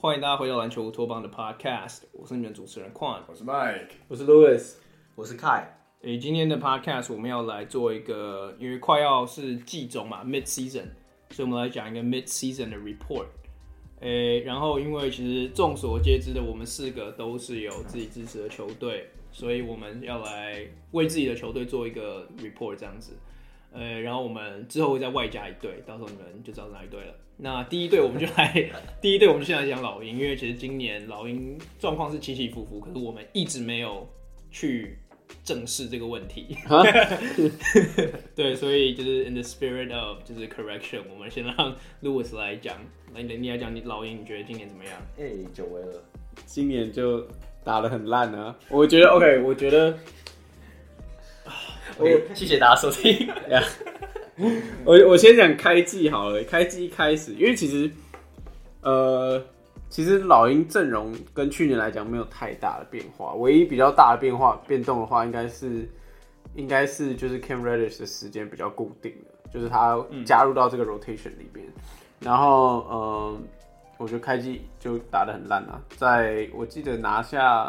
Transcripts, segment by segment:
歡迎大家回到籃球烏托邦的 Podcast， 我是你們主持人 Quan， 我是 Mike， 我是 Louis， 我是 Kai。 今天的 Podcast 我們要來做一個，因為快要是季中嘛 ，Mid Season， 所以我們來講一個 Mid Season 的 Report。然後因為其實眾所皆知的，我們4個都是有自己支持的球隊，所以我們要來為自己的球隊做一個 Report 這樣子。然後我們之後會再外加一隊，到時候你们就知道是哪一隊了。那第一隊我們就先來講老鷹，因為其實今年老鷹狀況是起起伏伏，可是我們一直沒有去正視這個問題。對，所以就是 in the spirit of 就是 correction， 我們先讓 Louis 來講，你來講你老鷹，你覺得今年怎麼樣？ 久違了， 今年就打得很爛啊！我覺得 OK， 我覺得。 謝謝大家收聽。 我先講開季好了，開季一開始，因為其實老鷹陣容跟去年來講沒有太大的變化，唯一比較大的變動的話，應該是就是 Cam Reddish 的時間比較固定的，就是他加入到這個 rotation 裡邊，然後我覺得開季就打得很爛啊，在我記得拿下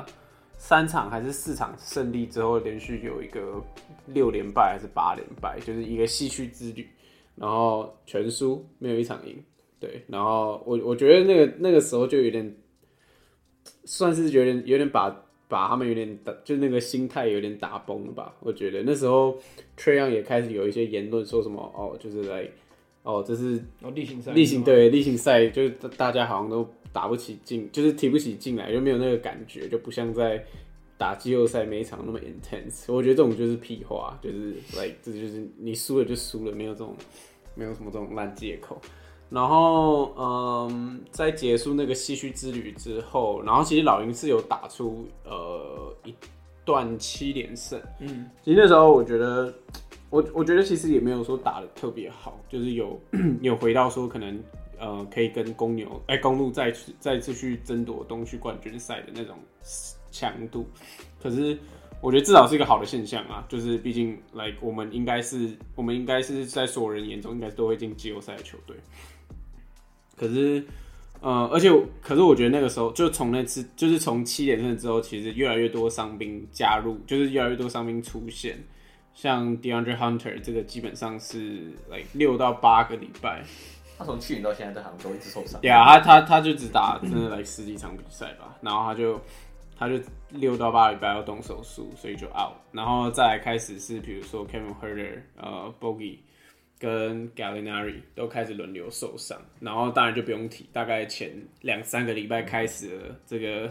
3場還是4場勝利之後，連續有一個6連敗還是8連敗，就是一個唏噓之旅，然後全輸，沒有一場贏。對，然後我覺得那個時候就有點，算是有點把他們有點就那個心態有點打崩了吧。我覺得那時候 Trae Young 也開始有一些言論說什麼就是來這是例行賽，就是大家好像都打不起勁，就是提不起勁來，就沒有那個感覺，就不像在打季後賽每一場那麼 intense。我覺得這種就是屁話，就是這就是你輸了就輸了，沒有什麼這種爛借口。然後在結束那個唏噓之旅之後，然後其實老鷹是有打出一段7連勝。其實那時候我覺得其實也沒有說打得特別好，就是有回到說可能可以跟公鹿再次去爭奪東區冠軍賽的那種強度。可是我覺得至少是一個好的現象啊，就是畢竟我們應該是在所有人眼中應該都會進季後賽的球隊。可是可是我覺得那個時候就從那次就是從7連勝之後，其實越來越多傷兵加入，就是越來越多傷兵出現。像 DeAndre Hunter 這個基本上是6到8個禮拜， 他從去年到現在都好像都一直受傷。 對啊，他就只打真的10幾場比賽吧，然後他就6到8個禮拜要動手術，所以就 out。然後再來開始是比如說 Kevin Huerter、Bogey 跟 Gallinari 都開始輪流受傷，然後當然就不用提，大概前2-3個禮拜開始了這個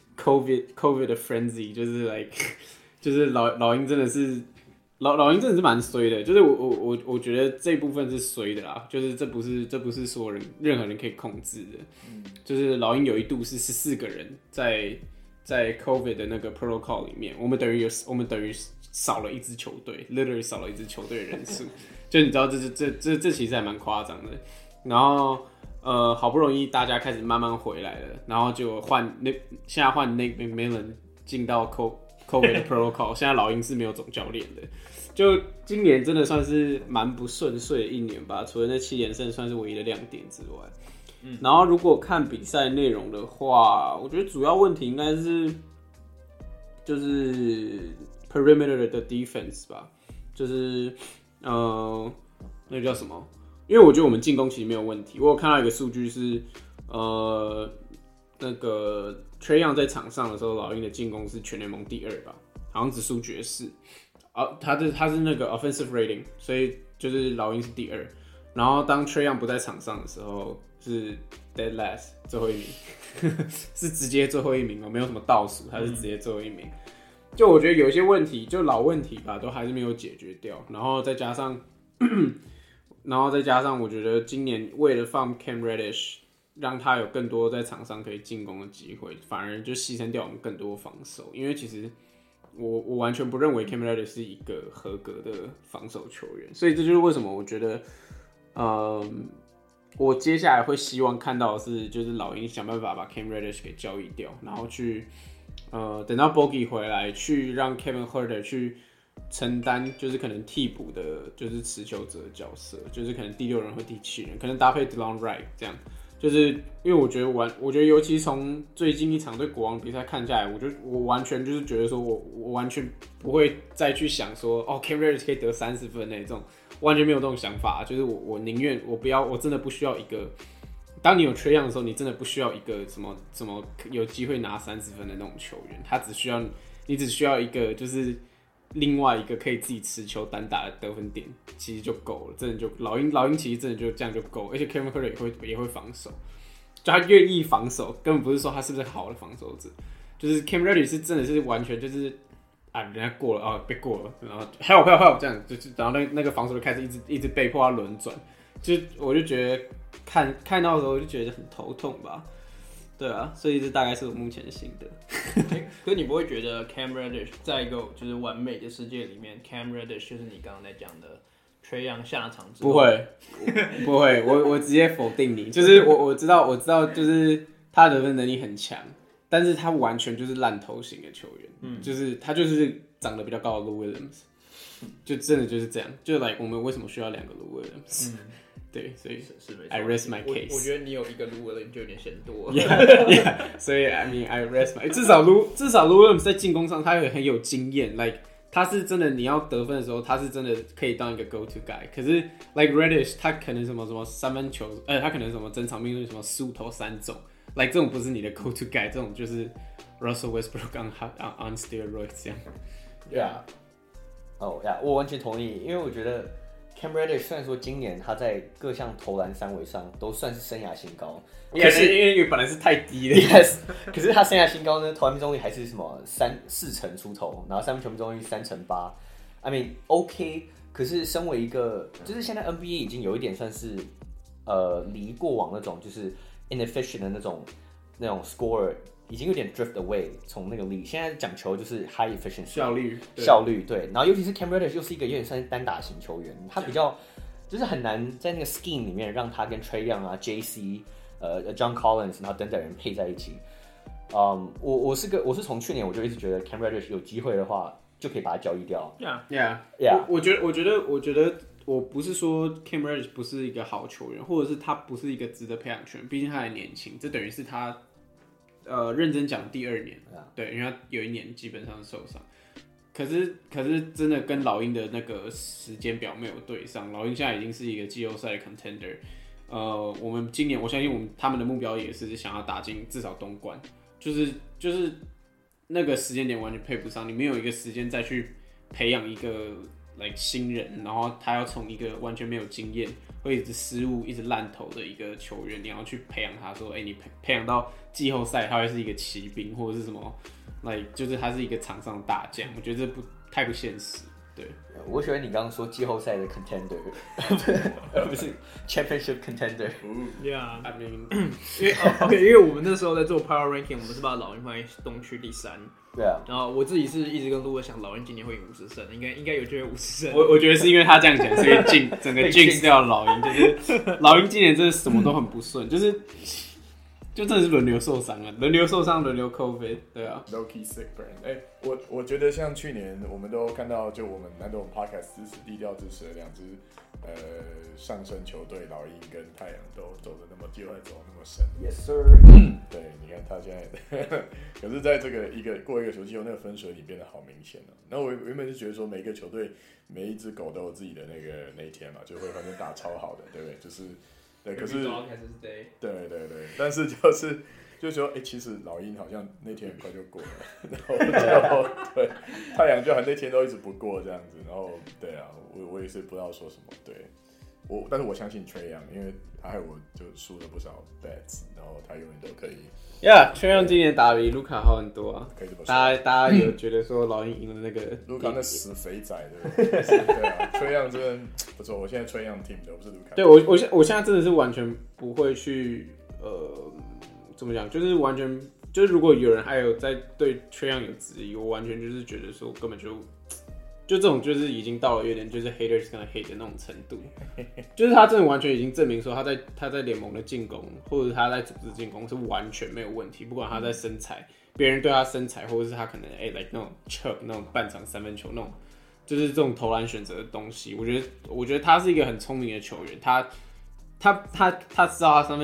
COVID 的 frenzy， 就是老鷹真的是。老鷹真的是蠻衰的，就是我覺得這部分是衰的啦，就是這不是所有任何人可以控制的，就是老鷹有一度是14個人在 COVID 的那個 protocol 裡面，我們等於少了一支球隊 ，literally 少了一支球隊的人數，就你知道這其實還蠻誇張的，然後好不容易大家開始慢慢回來了，然後就現在換 Nate McMillan 進到COVID 的 protocol， 現在老鷹是沒有總教練的。就今年真的算是蠻不順遂的一年吧，除了那7連勝算是唯一的亮點之外，然後如果看比賽內容的話，我覺得主要問題應該是就是 perimeter 的 defense 吧，就是那叫什麼？因為我觉得我们進攻其實沒有問題，我有看到一個數據是那個 Trae Young 在場上的時候，老鷹的進攻是全聯盟第2吧，好像只輸爵士。他是那個 offensive rating， 所以就是老鷹是第2。然後當 Trae Young 不在場上的時候，是 dead last 最後一名，是直接最後一名哦，沒有什麼倒數，他是直接最後一名。就我覺得有一些問題，就老問題吧，都還是沒有解決掉。然後再加上，我覺得今年為了放 Cam Reddish， 讓他有更多在場上可以進攻的機會，反而就犧牲掉我們更多防守。因為其實我完全不認為 Cam Reddish 是一個合格的防守球員，所以這就是為什麼我覺得，我接下來會希望看到的是，就是老鷹想辦法把 Cam Reddish 給交易掉，然後去等到 Bogey 回來，去讓 Kevin Huerter 去承擔，就是可能替補的，就是持球者的角色，就是可能第6人或第7人，可能搭配 DeLon Wright 這樣， 就是因為我覺得尤其從最近一場對國王比賽看下來，我完全就是覺得說我完全不會再去想說Cam Reddish 可以得30分那種，完全沒有這種想法。就是我寧願我不要，我真的不需要一個。當你有Trae Young的時候，你真的不需要一個什麼有機會拿30分的那種球員，你只需要一個就是另外一個可以自己持球單打的得分點，其實就夠了。真的就老鷹其實真的就這樣就夠，而且 Kevin Huerter 也會防守，就他願意防守，根本不是說他是不是好的防守者，就是 Cam Reddish 是真的是完全就是人家過了被過了，然後help 這樣，就是然后那個防守就開始一直被迫要輪轉，我就覺得。看到的時候就覺得很頭痛吧，對啊，所以這大概是我目前的心得。 可是你不會覺得 Cam Reddish 在一個就是完美的世界裡面 ，Cam Reddish 就是你剛剛在講的 Trae Young 下場之後？ 不會，我直接否定你。就是我知道，就是他的得分能力很強，但是他完全就是爛頭型的球員，就是他就是長得比較高的 Lou Williams，就真的就是這樣，就我們為什麼需要2個 Lou Williams？对，所以是沒錯。 I rest my case。 我覺得你有一個 Lou Williams 就有點嫌多了。 Yeah， 所以 I mean I rest my 至少 Lou Williams 在進攻上他很有經驗 ，like 他是真的你要得分的時候，他是真的可以當一個 go to guy。可是 like Reddish 他可能什麼三分球，他可能什麼整場命中什麼15投3中 ，like 這種不是你的 go to guy， 這種就是 Russell Westbrook on steroids 這樣。 Yeah，我完全同意，因為我覺得。Cam Reddish 雖然說今年他在各項投籃三圍上都算是生涯新高， 可是因為本來是太低了 ，yes， 可是他生涯新高呢，投籃命中率還是什麼4成出頭，然後三分球命中率3.8%。I mean OK， 可是身為一個，就是現在 NBA 已經有一點算是離過往那種就是 inefficient 的那種 scorer。已經有點 drift away 從那個力，現在講求就是 high efficiency 效率对，然後尤其是 Cam Reddish 又是一個有點算是單打型球員，他比較就是很難在那個 scheme 裡面讓他跟 Trae Young 啊 JC John Collins 然後等等人配在一起。我是從去年我就一直覺得 Cam Reddish 有機會的話就可以把他交易掉。 Yeah， 我覺得我不是說 Cam Reddish 不是一個好球員，或者是他不是一個值得培養球員，畢竟他還年輕，這等於是他。認真講第2年，對，因為他有1年基本上受傷，可是真的跟老鷹的那個時間表沒有對上，老鷹現在已經是一個季後賽的 contender， 我們今年我相信他們的目標也是想要打進至少東冠，就是那個時間點完全配不上，你沒有一個時間再去培養一個新人，然後他要從一個完全沒有經驗。會一直失誤、一直爛投的一個球員，你要去培養他，說，你培養到季後賽，他會是一個騎兵，或者是什麼，就是他是一個場上的大將。我覺得這太不現實。对， 我喜歡你剛剛說季後賽的 contender， 而不是 championship contender。Yeah， 因為我們那時候在做 power ranking， 我們是把老鷹放在東區第3。 對啊， 然後我自己是一直跟路哥想，老鷹今年會贏50勝，應該有機會50勝。 我覺得是因為他這樣講，所以整個 jinx 掉了老鷹，就是老鷹今年真的什麼都很不順，就真的是輪流受傷啊，輪流受傷，輪流 COVID， 對啊 ，low key sick brand。我覺得像去年我們都看到，就我们难得我们 podcast 支持低調支持的2支上升球隊，老鷹跟太陽都走的那麼季後賽走那麼深。 Yes sir。 對，你看他現在，可是在這個過一個球季後，那個分水嶺變得好明顯了。那我原本是覺得說，每一個球隊每一隻狗都有自己的那一天嘛，就會反正打超好的，對不对？就是對，可是對，但是就是說，其實老鷹好像那天很快就過了，然後對，太陽就那天都一直不過這樣子，然後對啊，我也是不知道說什麼，对，但是我相信 Trae Young， 因為他害我就輸了不少 bets， 然後他永遠都可以。 Trae Young 今年打比盧卡好很多啊， 可以這麼說。 大家有覺得說老鷹贏了那個盧卡那死肥仔對不對？對啊，Trae Young 真的不錯，我現在 Trae Young team 的不是盧卡。 對我現在真的是完全不會去怎麼講，就是完全就是如果有人還有在對 Trae Young 有質疑，我完全就是覺得說根本就這種就是已經到了有點就是 haters gonna hate 的那種程度，就是他真的完全已經證明說他在聯盟的進攻或者他在組織進攻是完全沒有問題，不管他在身材，別人對他身材或者是他可能like 那種 chuck 那種半場三分球那種，就是這種投籃選擇的東西，我覺得他是一個很聰明的球員，他知道他三分球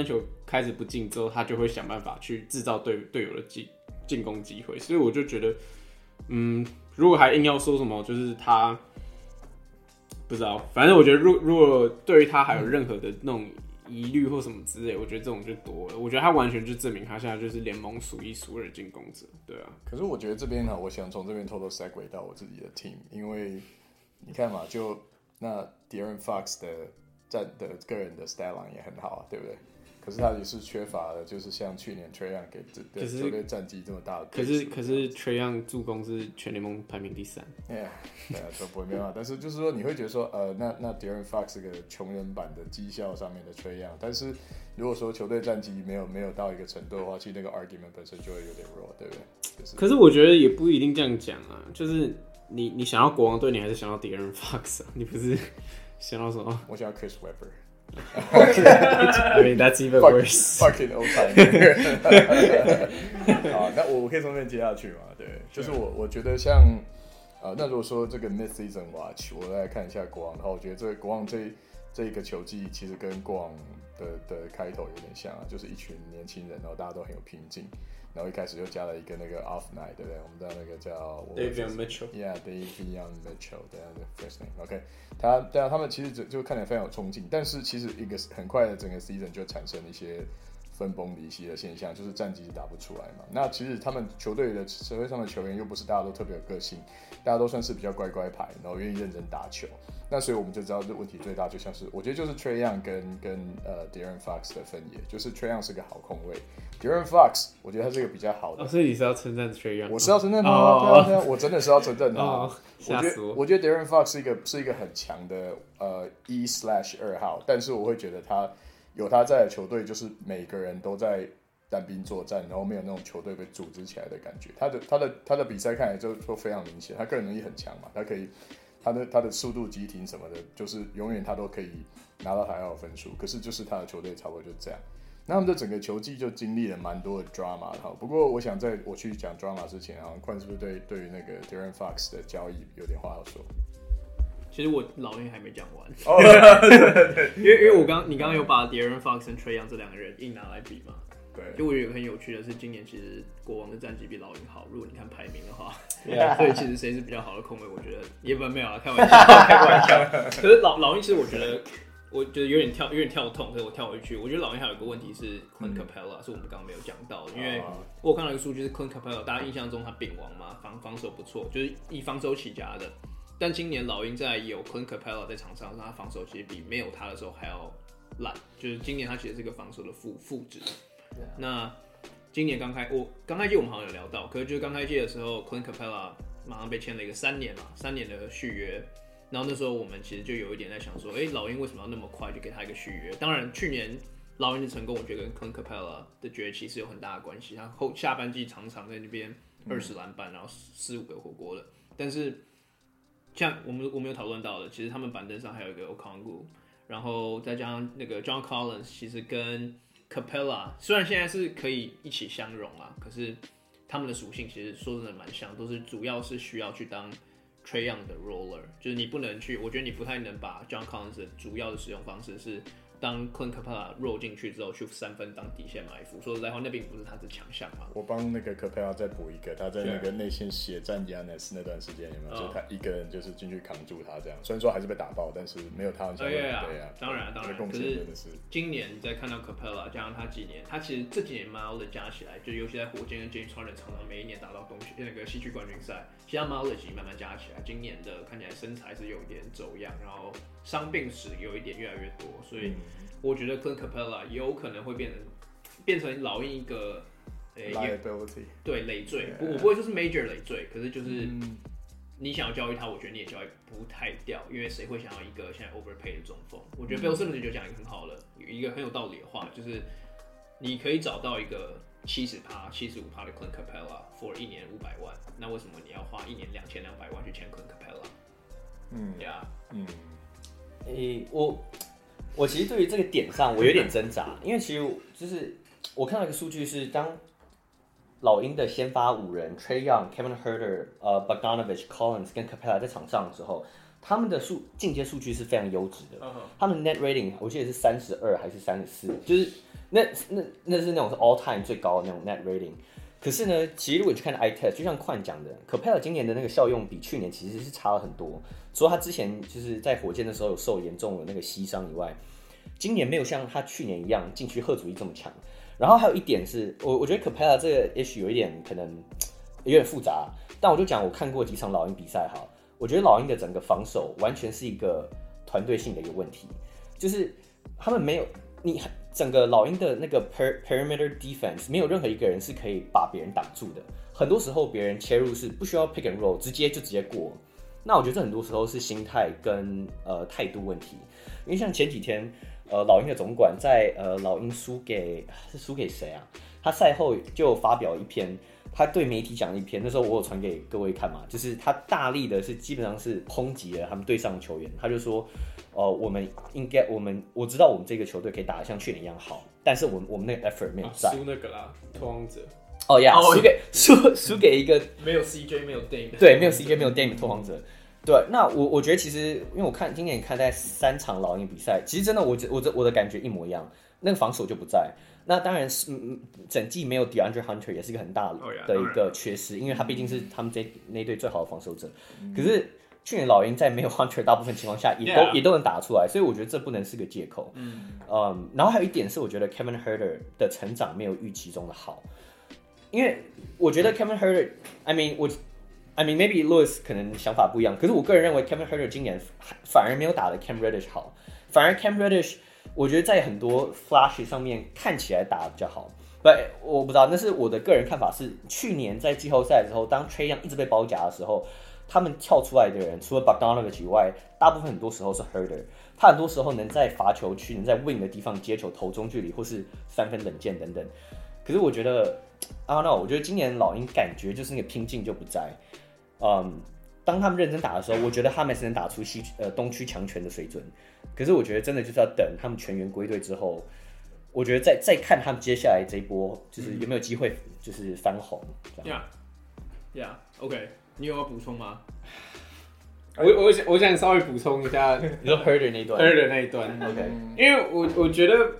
開始不進之後，他就會想辦法去製造隊友的進攻機會。所以我就覺得，如果還硬要說什麼，就是他不知道，反正我覺得如果對於他還有任何的那種疑慮或什麼之類，我覺得這種就多了。我覺得他完全就證明他現在就是聯盟數一數二的進攻者，對啊。 可是我覺得這邊呢，我想從這邊偷偷 segue 到我自己的 team， 因為你看嘛，就那 De'Aaron Fox 的個人的 stat line 也很好啊，对不對？可是他也是缺乏了，就是像去年 Trae Young 給球队戰績這麼大的。可是 Trae Young 助攻是全聯盟排名第3。 對啊，都不会沒辦法。但是就是說，你會覺得說，那 De'Aaron Fox 是個窮人版的績效上面的 Trae Young，但是如果說球隊戰績沒有到一個程度的話，其實那個 argument 本身就會有點弱，對不對？就是、 可是我覺得也不一定這樣講啊，就是你想要國王隊，你還是想要 De'Aaron Fox 啊？你不是想要什麼？ 我想要 Chris Webber。 I mean that's even worse. Fucking old time. 好，那我可以从那邊接下去嘛？对，就是我覺得像那如果說這個 mid-season watch， 我來看一下國王的話，我覺得這個國王這一個球季其實跟過往的開頭有點像啊，就是一群年輕人，然後大家都很有拼勁，然後一開始就加了一個那個 off night， 對不對？我們的那個叫 Davion Mitchell。Yeah, Davion Mitchell， 对啊 ，first name。OK， 他们其實就看起來非常有衝勁，但是其實一個很快的整個 season 就產生了一些分崩離析的現象，就是戰績打不出來嘛。那其實他們球隊的社會上的球員又不是大家都特別有個性，大家都算是比較乖乖牌，然後願意認真打球。那所以我們就知道這問題最大，就像是我覺得就是 Trae Young 跟De'Aaron Fox 的分野，就是 Trae Young 是個好控衛 ，De'Aaron Fox 我觉得他是個比較好的。 所以你是要稱讚 Trae Young？ 我是要稱讚他，對啊，我真的是要稱讚他。 嚇死我！ 我覺得 De'Aaron Fox 是一個很強的1/2號，但是我會覺得他有他在的球隊，就是每個人都在單兵作戰，然後沒有那種球隊被組織起來的感覺。他的比賽看來就非常明顯，他個人能力很強嘛，他可以。他的速度、急停什麼的，就是永遠他都可以拿到他要的分數。可是就是他的球隊差不多就這樣。那他們的整個球季就經歷了蠻多的 drama 的。不過我想在我去講 drama 之前，冠是不是對於那個 De'Aaron Fox 的交易有點話要說？ 其實我老鷹還沒講完。 哦， 因為你剛剛有把 De'Aaron Fox 跟 Trae Young 這兩個人硬拿來比嘛。就我覺得很有趣的是，今年其實國王的戰績比老鷹好。如果你看排名的話，所以其實誰是比較好的控衛，我覺得也沒有啊，開玩笑，開玩笑。可是老鷹其實我覺得有點跳痛，所以我跳回去。我覺得老鷹還有一個問題是 Clint Capella，是我們剛剛沒有講到的，因為我有看到一個數據是 Clint Capella， 大家印象中他丙王嘛，防守不錯，就是以防守起家的。但今年老鷹在有 Clint Capella 在場上，他防守其實比沒有他的時候還要爛，就是今年他其實是個防守的負值。那今年剛開季我們好像有聊到，可是就是剛開季的時候 Clint Capella 馬上被簽了一個3年的續約，然後那時候我們其實就有一點在想說，老鷹為什麼要那麼快就給他一個續約？當然去年老鷹的成功，我覺得跟 Clint Capella 的崛起是有很大的關係，他下半季常常在那邊20籃板，然後4-5個火鍋的。但是像我們有討論到的，其實他們板凳上還有一個 Okongwu， 然後再加上那個 John Collins， 其實跟Capella 雖然現在是可以一起相容啊，可是他們的屬性其實說真的蠻像，都是主要是需要去當 Trae Young 的 roller， 就是你不能去，我覺得你不太能把 John Collins 的主要的使用方式是當 Clint Capella roll 進去之後去3分當底線埋伏，說實在話那並不是他的強項嘛。 我幫那個 Capella 再補一個，他在那個內線血戰 Giannis 那段時間有沒有？就是他一個人就是進去扛住他這樣，雖然說還是被打爆，但是沒有他很強的。對啊， 當然，可是今年你再看到 Capella 加上他幾年，他其實這幾年 mileage 加起来，就尤其在火箭跟 James Harden 常常每一年打到那個西区冠軍賽，其實他 mileage 慢慢加起來，今年的看起來身材是有一點走樣，然後傷病史有一點越來越多，所以。我覺得 Clint Capella 有可能會變成老鷹一個 liability， 對累赘，我不會說是 major 累赘，可是就是你想要交易他，我覺得你也交易不太掉，因為誰會想要一個現在 overpay 的中鋒？我覺得 Bill Simmons 就講一個很好的，有一個很有道理的話，就是你可以找到一個70%、75%的 Clint Capella for 1年500萬，那為什麼你要花1年2200萬去簽 Clint Capella？ 我其實對於這個點上，我有點掙扎，因為其實就是我看到一個數據是，當老鷹的先發5人 Trae Young、Kevin Huerter、Bogdanovich、Collins 跟 Capella 在場上的時候，他們的進階數據是非常優質的。他們 net rating 我記得是32還是34，就是那是那種是 all time 最高的那種 net rating。可是呢，其實如果你去看 eye test， 就像Quan講的 ，Capella 今年的那個效用比去年其實是差了很多。除了他之前就是在火箭的時候有受嚴重的那個膝傷以外，今年沒有像他去年一樣禁區嚇阻力這麼強。然後還有一點是，我覺得 Capella 這個 issue 有一點可能有點複雜，但我就講我看過幾場老鷹比賽哈，我覺得老鷹的整個防守完全是一個團隊性的一個問題，就是他們沒有你。整個老鷹的那個 perimeter defense 沒有任何一個人是可以把別人擋住的。很多時候別人切入是不需要 pick and roll， 直接過。那我覺得這很多時候是心態跟態度問題。因為像前幾天老鷹的總管在老鷹輸給誰啊？他賽後就發表一篇，他對媒體講了一篇。那時候我有傳給各位看嘛，就是他大力的是基本上是抨擊了他們隊上的球員。他就說。我知道我們這個球隊可以打得像去年一樣好，但是我們那個 effort 沒有在。 輸那個啦，拓荒者。 哦呀，輸給一個沒有 CJ 沒有 Dame， 對，沒有 CJ 沒有 Dame 的拓荒者。對，那我覺得其實因為我今年看在3場老鷹比賽，其實真的我的感覺一模一樣，那個防守就不在。那當然是整季沒有 DeAndre Hunter 也是一個很大的一個缺失，因為他畢竟是他們那隊最好的防守者。可是。去年老鷹在沒有 Hunter 大部分情況下也都能打出來，所以我覺得這不能是個借口。然後還有一點是，我覺得 Kevin Huerter 的成長沒有預期中的好，因為我覺得 Kevin Huerter，I mean maybe Lewis 可能想法不一樣，可是我個人認為 Kevin Huerter 今年反而沒有打得 Cam Reddish 好，反而 Cam Reddish 我覺得在很多 flash 上面看起來打得比較好。我不知道，那是我的個人看法是，去年在季後賽的時候，當 Trae Young 一直被包夾的時候。他們跳出來的人，除了 Bogdanovic 以外，大部分很多時候是 Huerter。他很多時候能在罰球區、能在 wing 的地方接球投中距離，或是3分冷箭等等。可是我覺得 ，I don't know， 我覺得今年老鷹感覺就是那個拼勁就不在。當他們認真打的時候，我覺得他們是能打出東區強權的水準。可是我覺得真的就是要等他們全員歸隊之後，我覺得再看他們接下來這一波，就是有沒有機會就是翻紅。 OK。你有要補充嗎？ 我想稍微補充一下， 你說 Huerter 那一段 ，Huerter 那一段 ，OK， 因為我覺得，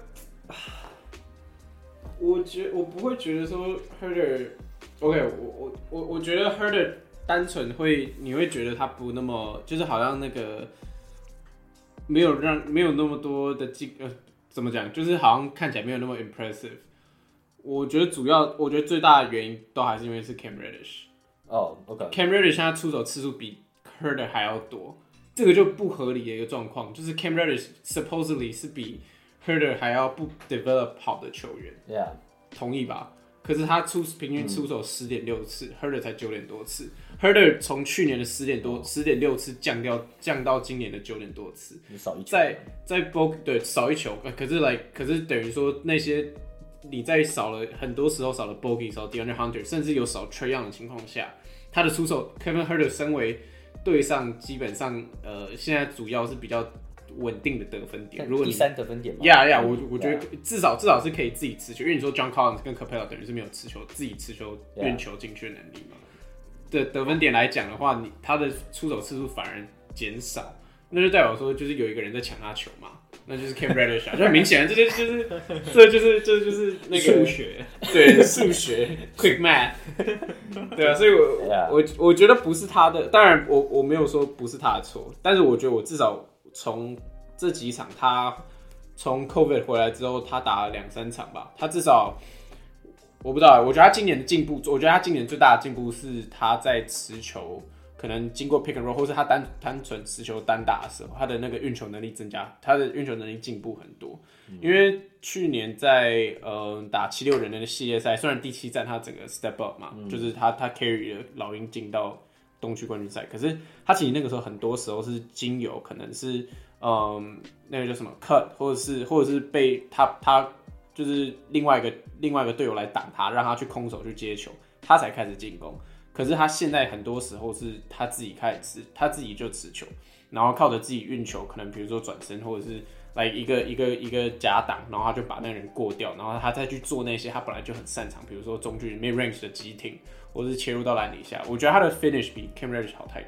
我不會覺得說 Huerter，OK， 我覺得 Huerter 單純你會覺得他不那麼，就是好像那個沒有那麼多的怎麼講，就是好像看起來沒有那麼 impressive。我覺得最大的原因都還是因為是 Cam Reddish。OK。Cam Reddish 現在出手次數比 Huerter 還要多，這個就不合理的一個狀況，就是 Cam Reddish supposedly 是比 Huerter 還要不 develop 好的球員。 Yeah， 同意吧？可是他平均出手10.6次，Huerter 才9點多次。Huerter 從去年的10.6次降到今年的9點多次， 少一球。 在 Bogey 對少一球，可是等於說那些。你在很多時候少了 Bogey， 少了 DeAndre Hunter， 甚至有少 Trae Young 的情況下，他的出手 Kevin Huerter 身為隊上基本上現在主要是比較穩定的得分點，如果你第3得分點嘛， 我覺得至少是可以自己持球，因為你說 John Collins 跟 Capella 等於是沒有自己持球運球進去的能力嘛。得分點來講的話，他的出手次數反而減少，那就代表說就是有一個人在搶他球嘛。那就是 Cam Reddish， 就很明顯，这就是那個數學， 對，數學 quick math， 對啊，所以我覺得不是他的，當然我沒有說不是他的錯，但是我覺得我至少從這幾場他從 COVID 回來之後，他打了2-3場吧，他至少我不知道，我覺得他今年的進步，我覺得他今年最大的進步是他在持球。可能經過 pick and roll， 或是他單純持球單打的時候，他的那個運球能力增加，他的運球能力進步很多。因為去年在打76人的系列賽，雖然第7戰他整個 step up 嘛，就是他 carry 了老鷹進到東區冠軍賽，可是他其實那個時候很多時候是經由可能是那個叫什麼 cut， 或者是被他就是另外一個隊友來擋他，讓他去空手去接球，他才開始進攻。可是他現在很多時候是他自己他自己就持球，然後靠着自己運球，可能比如說轉身或者是來一個假擋，然後他就把那個人過掉，然後他再去做那些他本來就很擅長，比如說中距離 mid range 的急停，或者是切入到籃底下。我覺得他的 finish 比 Cam Reddish 好太多。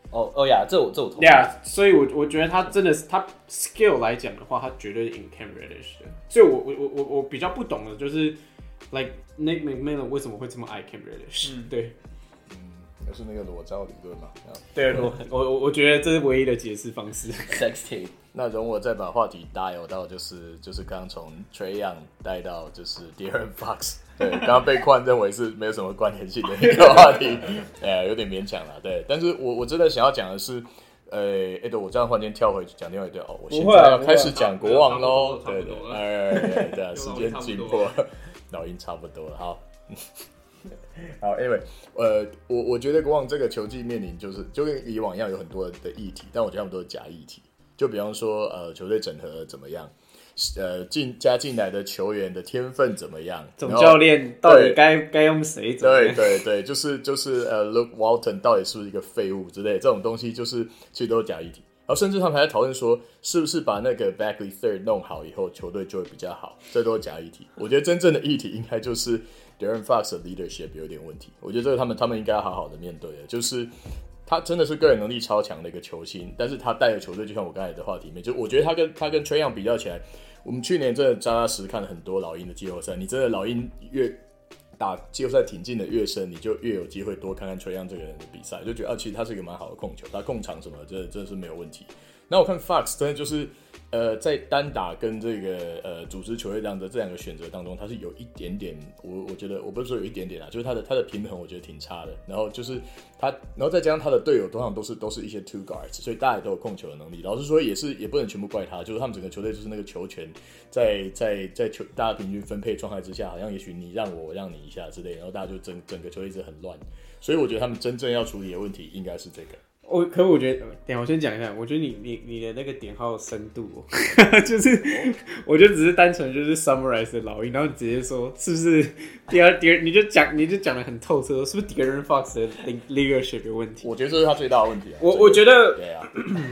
呀，這我同意。 所以我覺得他真的是他 skill 來講的話，他絕對贏 Cam Reddish 的。所以我比較不懂的就是 like Nate McMillan 為什麼會這麼愛 Cam Reddish？對， 就是那個裸照理論嘛。 對，我覺得這是唯一的解釋方式。 Sex tape。 那容我再把話題搭油到就是剛從 Trae Young 帶到就是 De'Aaron Fox， 對，剛剛被冠認為是沒有什麼關聯性的一個話題，有點勉強了，對。但是我真的想要講的是，對，我這樣忽然間跳回去講另外一段我現在要開始講國王嘍，對，時間緊迫，老鷹差不多了，好。好 ，Anyway， 我覺得國王這個球季面臨就跟以往一樣有很多的議題，但我覺得他們都是假議題。就比方說，球隊整合怎麼樣？加進來的球員的天分怎麼樣？ 總教練到底該用誰？ 對，就是Luke Walton 到底是不是一個廢物之類的這種東西，其實都是假議題。然後甚至他們還在討論說，是不是把那個 Bagley Third 弄好以後，球隊就會比較好？這都是假議題。我覺得真正的議題應該就是 De'Aaron Fox 的 leadership 有點問題。我覺得這個他們應該要好好的面對的，就是他真的是個人能力超強的一個球星，但是他帶的球隊就像我剛才的話题裡面，就我覺得他跟 Trae Young 比較起來，我們去年真的扎扎實看了很多老鷹的季後賽，你真的老鷹越打季後賽挺進的越深，你就越有機會多看看 Trae Young 這個人的比賽，就覺得其實他是一個蠻好的控球，他控場什麼真的是沒有問題。那我看 Fox 真的就是在單打跟這個組織球隊這兩個選擇當中，他是有一點點，我覺得我不是說有一點點啦，就是他的平衡我覺得挺差的。然後就是然後再加上他的队友通常都是一些 two guards， 所以大家也都有控球的能力。老實說也不能全部怪他，就是他們整个球隊就是那個球權在球大家平均分配狀態之下，好像也許你讓我讓你一下之類，然後大家就整個球隊一直很亂。所以我覺得他們真正要處理的問題應該是這個。 可我覺得，等一下我先講一下，我覺得你的那個點好有深度就是我就只是單純就是 summarize 的老鷹，然後你直接說是不是你就講得很透徹，是不是 De'Aaron Fox 的 leadership 有問題？ 我覺得這是他最大的問題。 我覺得， 對啊，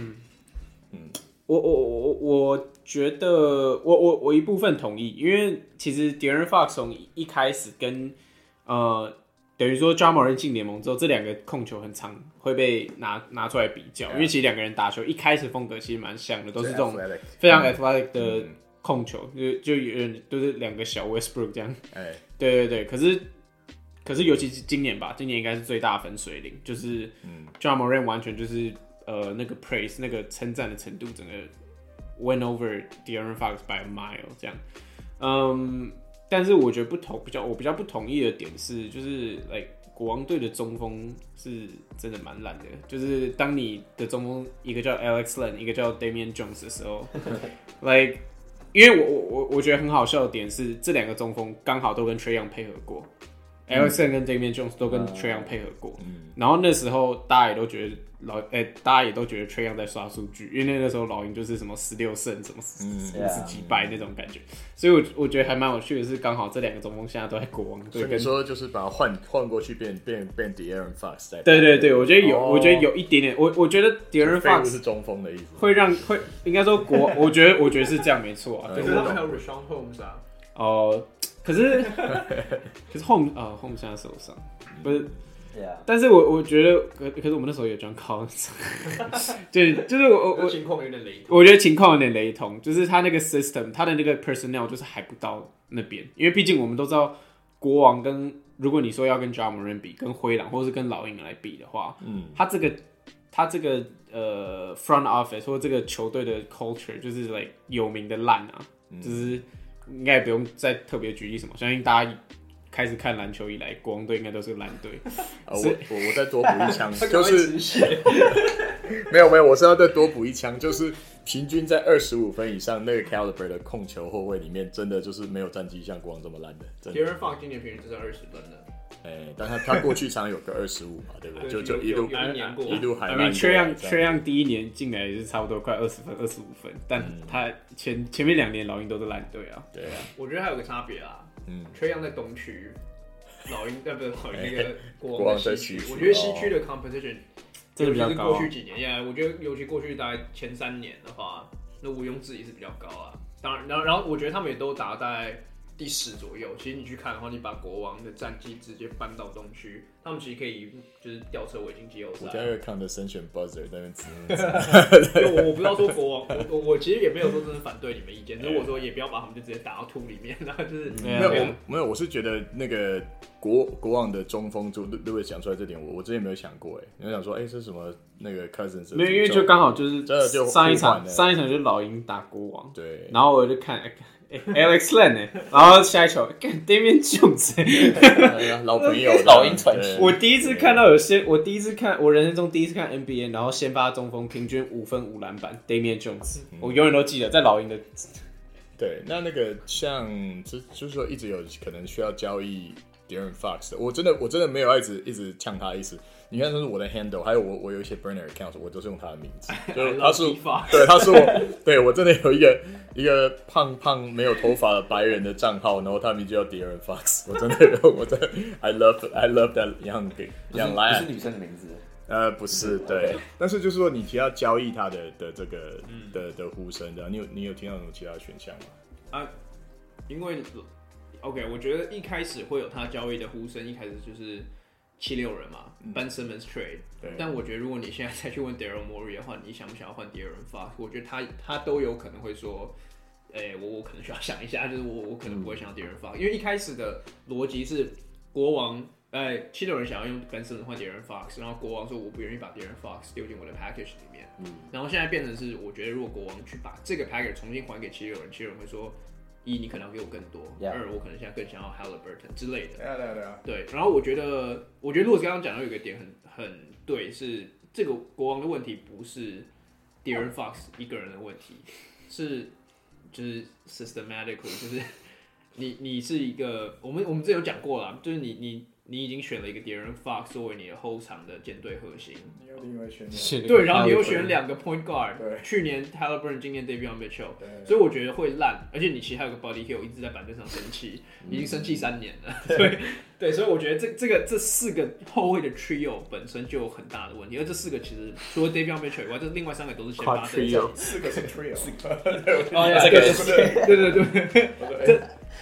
我覺得我一部分同意，因為其實 De'Aaron Fox 從一開始跟等於說 Ja Morant 進聯盟之後，這兩個控球很常會被拿出來比較，因為其實兩個人打球一開始風格其實蠻像的，都是這種非常 athletic 的控球，就有點都是兩個小 Westbrook 這樣。對，可是尤其是今年吧，今年應該是最大分水嶺，就是Ja Morant 完全就是那個 praise 那個稱讚的程度，整個 win over De'Aaron Fox by a mile 這樣。但是我覺得我比較不同意的點是，就是國王隊的中鋒是真的蠻爛的。就是當你的中鋒一個叫 Alex Len， 一個叫 Damian Jones 的時候因為我覺得很好笑的點是，這兩個中鋒剛好都跟 Trae Young 配合過，Alex Len 跟 Damian Jones 都跟 Trae Young 配合過。然後那時候大家也都覺得Trae Young 在刷數據，因為那時候老鷹就是什麼16勝，什麼50幾敗那種感覺，所以我覺得還蠻有趣的是，剛好這兩個中鋒現在都在國王隊。所以你說就是把它換過去變 De'Aaron Fox 在。 對，我覺得有一點點，我覺得 De'Aaron Fox 是中鋒的意思， 會應該說我覺得是這樣沒錯啊。 可是他們還有 Richaun Holmes 啊。可是 Holmes 現在受傷，不是。但是我覺得，可是我們那時候有 John Collins， 就是我情況有點雷同。 我覺得情況有點雷同，就是他那個 system， 他的那個 personnel 就是還不到那邊，因為畢竟我們都知道國王如果你說要跟 Ja Morant 比，跟灰狼或是跟老鷹來比的話，他這個front office 或這個球隊的 culture 就是有名的爛啊，就是應該也不用再特別舉例什麼，相信大家開始看籃球以來，國王隊應該都是爛隊。 我再多補一槍，就是沒有，我是要再多補一槍，就是平均在25分以上那個 caliber 的控球後衛裡面，真的就是沒有戰績像國王這麼爛的。 De'Aaron Fox 今年平均只是20分的。 但他過去常有個25嘛，對不對？就一路海爛。 Trae Young 第一年進來也是差不多快20分、25分，但他前面2年老鷹都是爛隊啊。 對啊， 我覺得還有個差別啊。Trae Young 在東區，老鷹不是老鷹那個國王在西區。我覺得西區的 competition 真的比較高。過去幾年，我覺得尤其過去大概前3年的話，那毋庸置疑是比較高啊。當然，然後我覺得他們也都打在第10左右。其實你去看的話，你把國王的戰績直接搬到東區，他們其實可以就是吊車尾進季後賽。 我現在會看的神選 buzzer 在那邊指。 我不知道說國王，我其實也沒有說真的反對你們意見，只是我說也不要把他们就直接打到土裡面，然后就是没有，我是觉得那個國王的中鋒就Louis講出來這點，我之前沒有想過，你想說，這是什麼那個 Cousins？ 沒有，因為就剛好就是上一場就是老鷹打國王， 對， 然後我就看Alex Len 然後下一球Damian Jones 老朋友老鷹傳奇。 我第一次看到我人生中第一次看 NBA， 然後先發中鋒平均5分5籃板 Damian Jones，我永遠都記得在老鷹的。 对，那個像就是說一直有可能需要交易 De'Aaron Fox 的，我真的沒有一直嗆他的意思。你看，這是我的 handle， 還有我有一些 burner account， 我都是用他的名字。就他是对，他是我真的有一個胖沒有頭髮的白人的賬號，然後他名字叫 De'Aaron Fox， 我真的 I love that young lion， 不是女生的名字。 不是，对，但是就是說你提到交易他的這個的呼聲的，你有聽到什麼其他的選項嗎？ 因為 OK， 我覺得一開始會有他交易的呼聲，一開始就是76人嘛，Ben Simmons trade。但我覺得如果你現在再去問 Daryl Morey 的話，你想不想要換 De'Aaron Fox？ 我覺得他都有可能會說，我可能需要想一下，就是我可能不會想要 De'Aaron Fox，因為一開始的邏輯是國王。76人想要用 Ben Simmons 換 De'Aaron Fox， 然後國王說我不願意把 De'Aaron Fox 丟進我的 package 裡面，然後現在變成是我覺得如果國王去把這個 package 重新還給76人，76人會說1你可能要給我更多，2我可能現在更想要 Haliburton 之類的，對，然後我覺得如果剛剛講到有一個點很對，是這個國王的問題不是 De'Aaron Fox 一個人的問題，是就是 systematically 就是你是一個我們之前有講過啦，就是你已經選了一個 De'Aaron Fox 作為你的後場的艦隊核心， 你又另外選對，然後你又選2個 point guard， 去年 Haliburton， 今年 Davion Mitchell， 所以我覺得會爛，而且你其實還有個 Buddy Hield 一直在板凳上生氣，已經生氣3年了，對，所以我覺得這4個後衛的 trio 本身就有很大的問題，而這4個其實除了 Davion Mitchell 以外，這另外3個都是先發的 ，4個是 trio， 對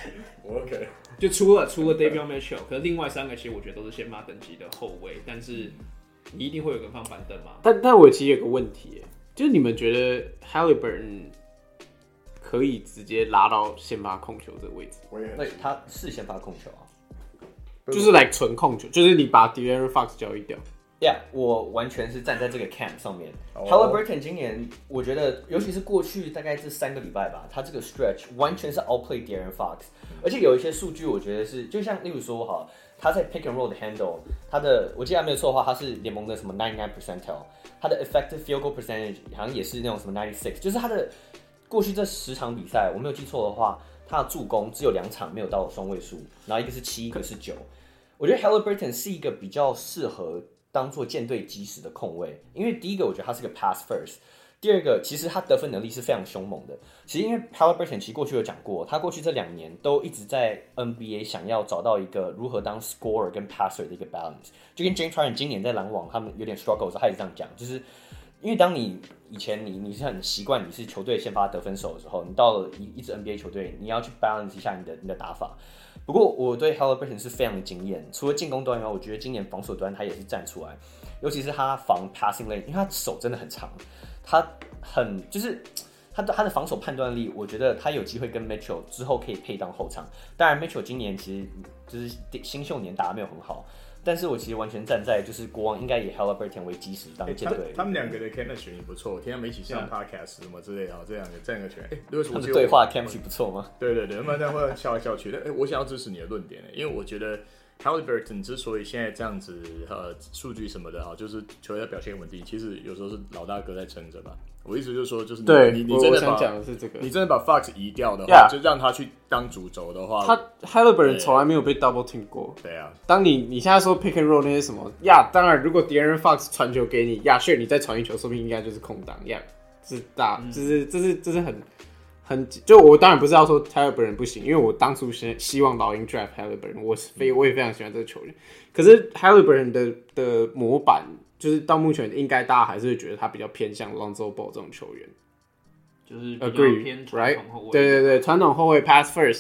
，OK。 就除了 Davion Mitchell， 可是另外3個其實我覺得都是先發等級的後衛，但是你一定會有個人放板凳嘛。 但我其實有個問題，就是你們覺得 Haliburton 可以直接拉到先發控球這個位置？ 對，他是先發控球啊， 就是來純控球，就是你把 De'Aaron Fox 交易掉。 Yeah， 我完全是站在這個 camp 上面。Haliburton 今年，我覺得，尤其是過去大概這3個禮拜吧，他這個 stretch 完全是 outplay De'Aaron Fox， 而且有一些數據，我覺得是，就像例如說哈，他在 pick and roll 的 handle， 我記得沒有錯的話，他是聯盟的什麼99 percentile， 他的 effective field goal percentage 好像也是那種什麼96，就是他的過去這10場比賽，我沒有記錯的話，他的助攻只有2場沒有到雙位數，然後一個是7，一個是9。我覺得 Haliburton 是一個比較適合當做艦隊基石的控衛，因為第一個我覺得他是個 pass first， 第二個其實他得分能力是非常兇猛的。其實因為 Haliburton 其實過去有講過，他過去這2年都一直在 NBA 想要找到一個如何當 scorer 跟 passer 的一個 balance， 就跟 James Harden 今年在籃網他們有點 struggle 的時候，他也這樣講，就是因為當你以前你是很習慣你是球隊先發得分手的時候，你到了一支 NBA 球隊，你要去 balance 一下你的打法。不過我對 Haliburton 是非常的驚豔，除了進攻端以外，我覺得今年防守端他也是站出来，尤其是他防 passing lane， 因为他手真的很長，他就是他的防守判斷力，我覺得他有機會跟 Mitchell 之後可以配當後場。當然 Mitchell 今年其實就是新秀年打得沒有很好，但是我其實完全站在就是國王應該以 Haliburton 為基石當艦隊。 他們2個的 chemistry 也不錯，我聽他們一起上 podcast 什麼之類的，這樣個拳， 他們對話 chemistry 不錯嗎？ 對，他們這樣會笑來笑去。我想要支持你的論點，因為我覺得 Haliburton 之所以現在這樣子，數據什麼的哈，就是球隊表現穩定，其實有時候是老大哥在撐着吧。我意思就是說，就是你真的把，你真的把 Fox 移掉的話，就讓他去當主軸的話， 他 Haliburton 從來沒有被 double team 過。 對啊，當你現在說 pick and roll 那些什麼呀，當然如果 De'Aaron Fox 傳球給你呀，sure 你再傳一球，說不定應該就是空檔呀，是大，這是很就我當然不是要說 Haliburton 不行，因為我當初希望老鷹 draft Haliburton， 我也非常喜歡這個球員，可是 Haliburton 的模板。就是到目前應該大家還是會覺得他比較偏向 Lonzo Ball 這種球員， 就是比較偏傳統後衛。 對，傳統後衛 pass first，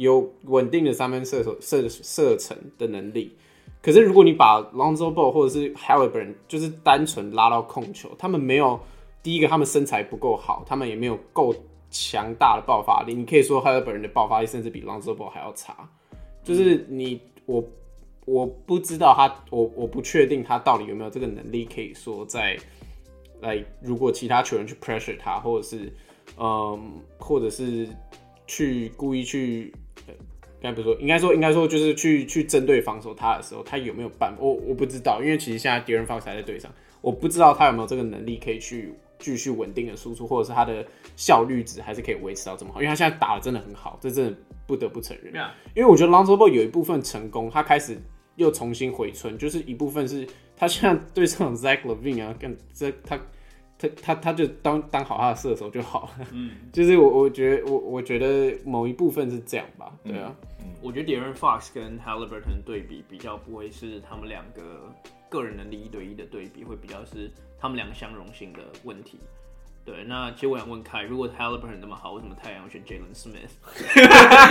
有穩定的三分射程的能力。可是如果你把 Lonzo Ball 或者是 Haliburton 就是单纯拉到控球，他們没有第一個，他們身材不夠好，他們也没有夠強大的爆發力。你可以說 Haliburton 的爆發力甚至比 Lonzo Ball 還要差。就是我不知道我不確定他到底有沒有這個能力，可以說在如果其他球員去 pressure 他，或者是去故意去。應该說就是去針對防守他的時候，他有沒有辦法？我不知道，因為其實現在 De'Aaron Fox 還在隊上，我不知道他有沒有這個能力可以去繼續穩定的輸出，或者是他的效率值還是可以維持到這麼好，因為他現在打的真的很好，這真的不得不承認。因為我覺得 Lonzo Ball 有一部分成功，他開始又重新回春，就是一部分是他現在对上 Zach LaVine 啊，他就當好他的射手就好了。就是我覺得某一部分是這樣吧，对啊。 我覺得 De'Aaron Fox 跟 Haliburton 的對比比較不會是他們兩個個人能力1對1的對比，會比較是他們兩個相容性的問題。對，那其實我想問凱，如果 Haliburton 那麼好，為什麼太陽選 Jalen Smith？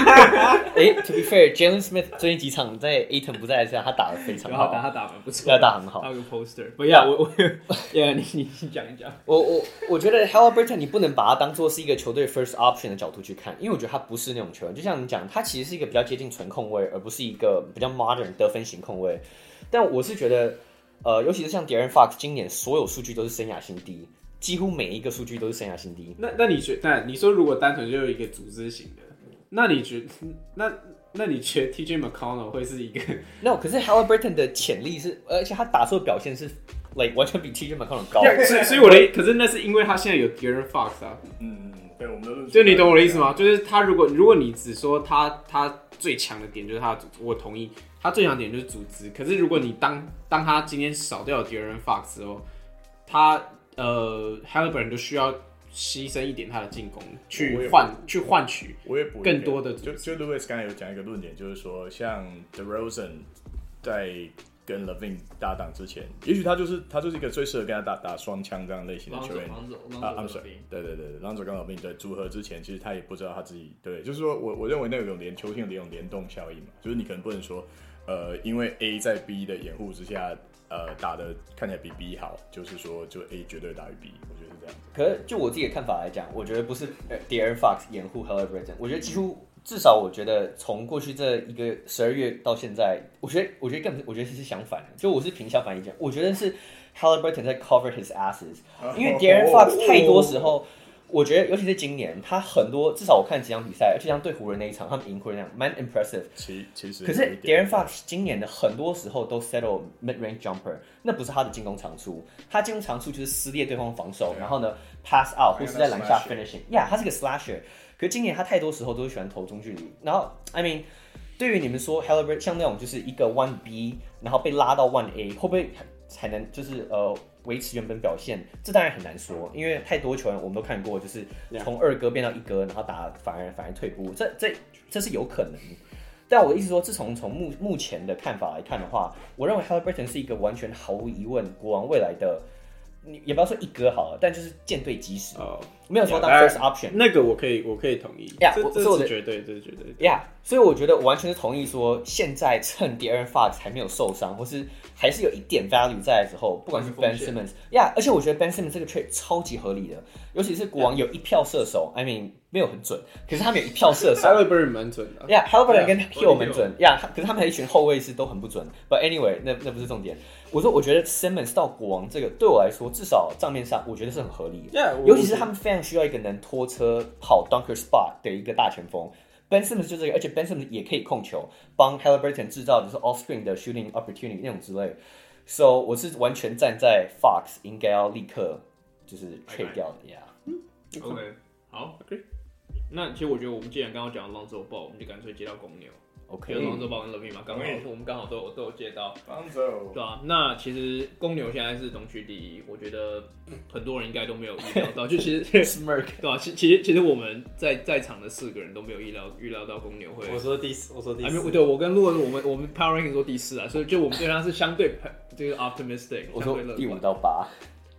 To be fair，Jalen Smith 最近幾場在 Ayton 不在的时候，他打得非常好， 他打得不錯， 他打很好。 他有個 poster， 不要我你講一講。 我覺得 Haliburton 你不能把他當做是一個球隊 first option 的角度去看，因為我覺得他不是那種球員。就像你講，他其實是一個比較接近純控衛，而不是一個比較 modern 得分型控衛。但我是覺得，尤其是像 De'Aaron Fox 今年所有數據都是生涯新低。幾乎每一個數據都是生涯新低。 那你說如果單純就有一個組織型的，那你覺得 TJ McConnell 會是一個 ？No， 可是 Haliburton 的潛力是，而且他打出的表現是 完全比 TJ McConnell 高。 所以可是那是因為他現在有 De'Aaron Fox 啊。 对，我们的就你懂我的意思嗎？就是他如果你只說他最強的點就是他的組織，我同意，他最強的點就是組織。可是如果你當他今天少掉了 De'Aaron Fox 之後，他Haliburton 就需要犧牲一點他的進攻，去換取更多的。 就 Louis 剛才有講一個論點，就是說像 DeRozan 在跟 LaVine 搭檔之前，也許他就是一個最適合跟他打雙槍這樣類型的球員。對 Lonzo 跟 LaVine 對組合之前，其實他也不知道他自己對，就是說我認為那種球星的那種聯動效應嘛，就是你可能不能說因為 A 在 B 的掩護之下。打的看起來比 B 好，就是說就 A 絕對大於 B， 我覺得是這樣。 可是就我自己的看法來講，我覺得不是 De'Aaron Fox 掩護 Haliburton， 我覺得幾乎至少我覺得從過去這一個12月到現在，我覺得是相反的，就我是憑相反意見，我覺得是 Haliburton 在 cover his asses， 因為 De'Aaron Fox 太多時候。我覺得，尤其是今年，他很多至少我看幾場比賽，而且像對湖人那一場，他們贏湖人那樣，蠻 impressive。其實，可是 De'Aaron Fox 今年的很多時候都 settle mid range jumper， 那不是他的進攻長處，他進攻長處就是撕裂對方防守，然後呢 pass out 或是在籃下 finishing。Yeah， 他是個 slasher， 可是今年他太多時候都是喜歡投中距離。然後 I mean， 對於你們說 Haliburton 像那種就是一個 1B， 然後被拉到 1A， 會不會才能就是維持原本表現？這當然很難說，因為太多球員我們都看過，就是從2哥變到1哥，然後打反而退步，這是有可能。但我的意思說，自從目前的看法來看的話，我認為 Haliburton 是一個完全毫無疑問國王未來的，你也不要說1哥好了，但就是艦隊基石，沒有說當 first option。 那個我可以同意，這是絕對，這是絕對。 Yeah， 所以我覺得我完全是同意說，現在趁 De'Aaron Fox 還沒有受傷，或是還是有一點 value 在的時候，不管是 Ben Simmons， 而且我覺得 Ben Simmons 這個 trade 超級合理的，尤其是國王有一票射手 ，I mean 沒有很準，可是他們有一票射手 ，Haliburton 蠻準的 ，Haliburton 跟 Hill 蠻準，可是他們還有一群後衛是都很不準。But anyway， 那不是重點。我覺得 Simmons 到國王這個對我來說，至少賬面上我覺得是很合理的，尤其是他們非常需要一個能拖車跑 dunker spot 的一個大前鋒。Ben Simmons 就這個，而且 Ben Simmons 也可以控球，幫 Haliburton 制造就是 off screen 的 shooting opportunity 那種之類。So 我是完全站在 Fox 應該要立刻就是 trade 掉的呀。 OK， 好 ，OK。那其實我覺得我們既然剛剛講到 Lonzo Ball，我們就乾脆接到公牛。 OK， Lonzo Ball 跟 LaVine 嘛，我們剛好都有接到。 Lonzo， 对啊，那其實公牛現在是东區第一，我覺得很多人應該都沒有意料到，就其實 Smirk 對啊，其實我們在場的4個人都沒有預料到公牛會。 我說第四。 對，我跟陸文我們 Power Ranking 說第4啊，所以就我們對他是相對這個 optimistic。 我說第5到8。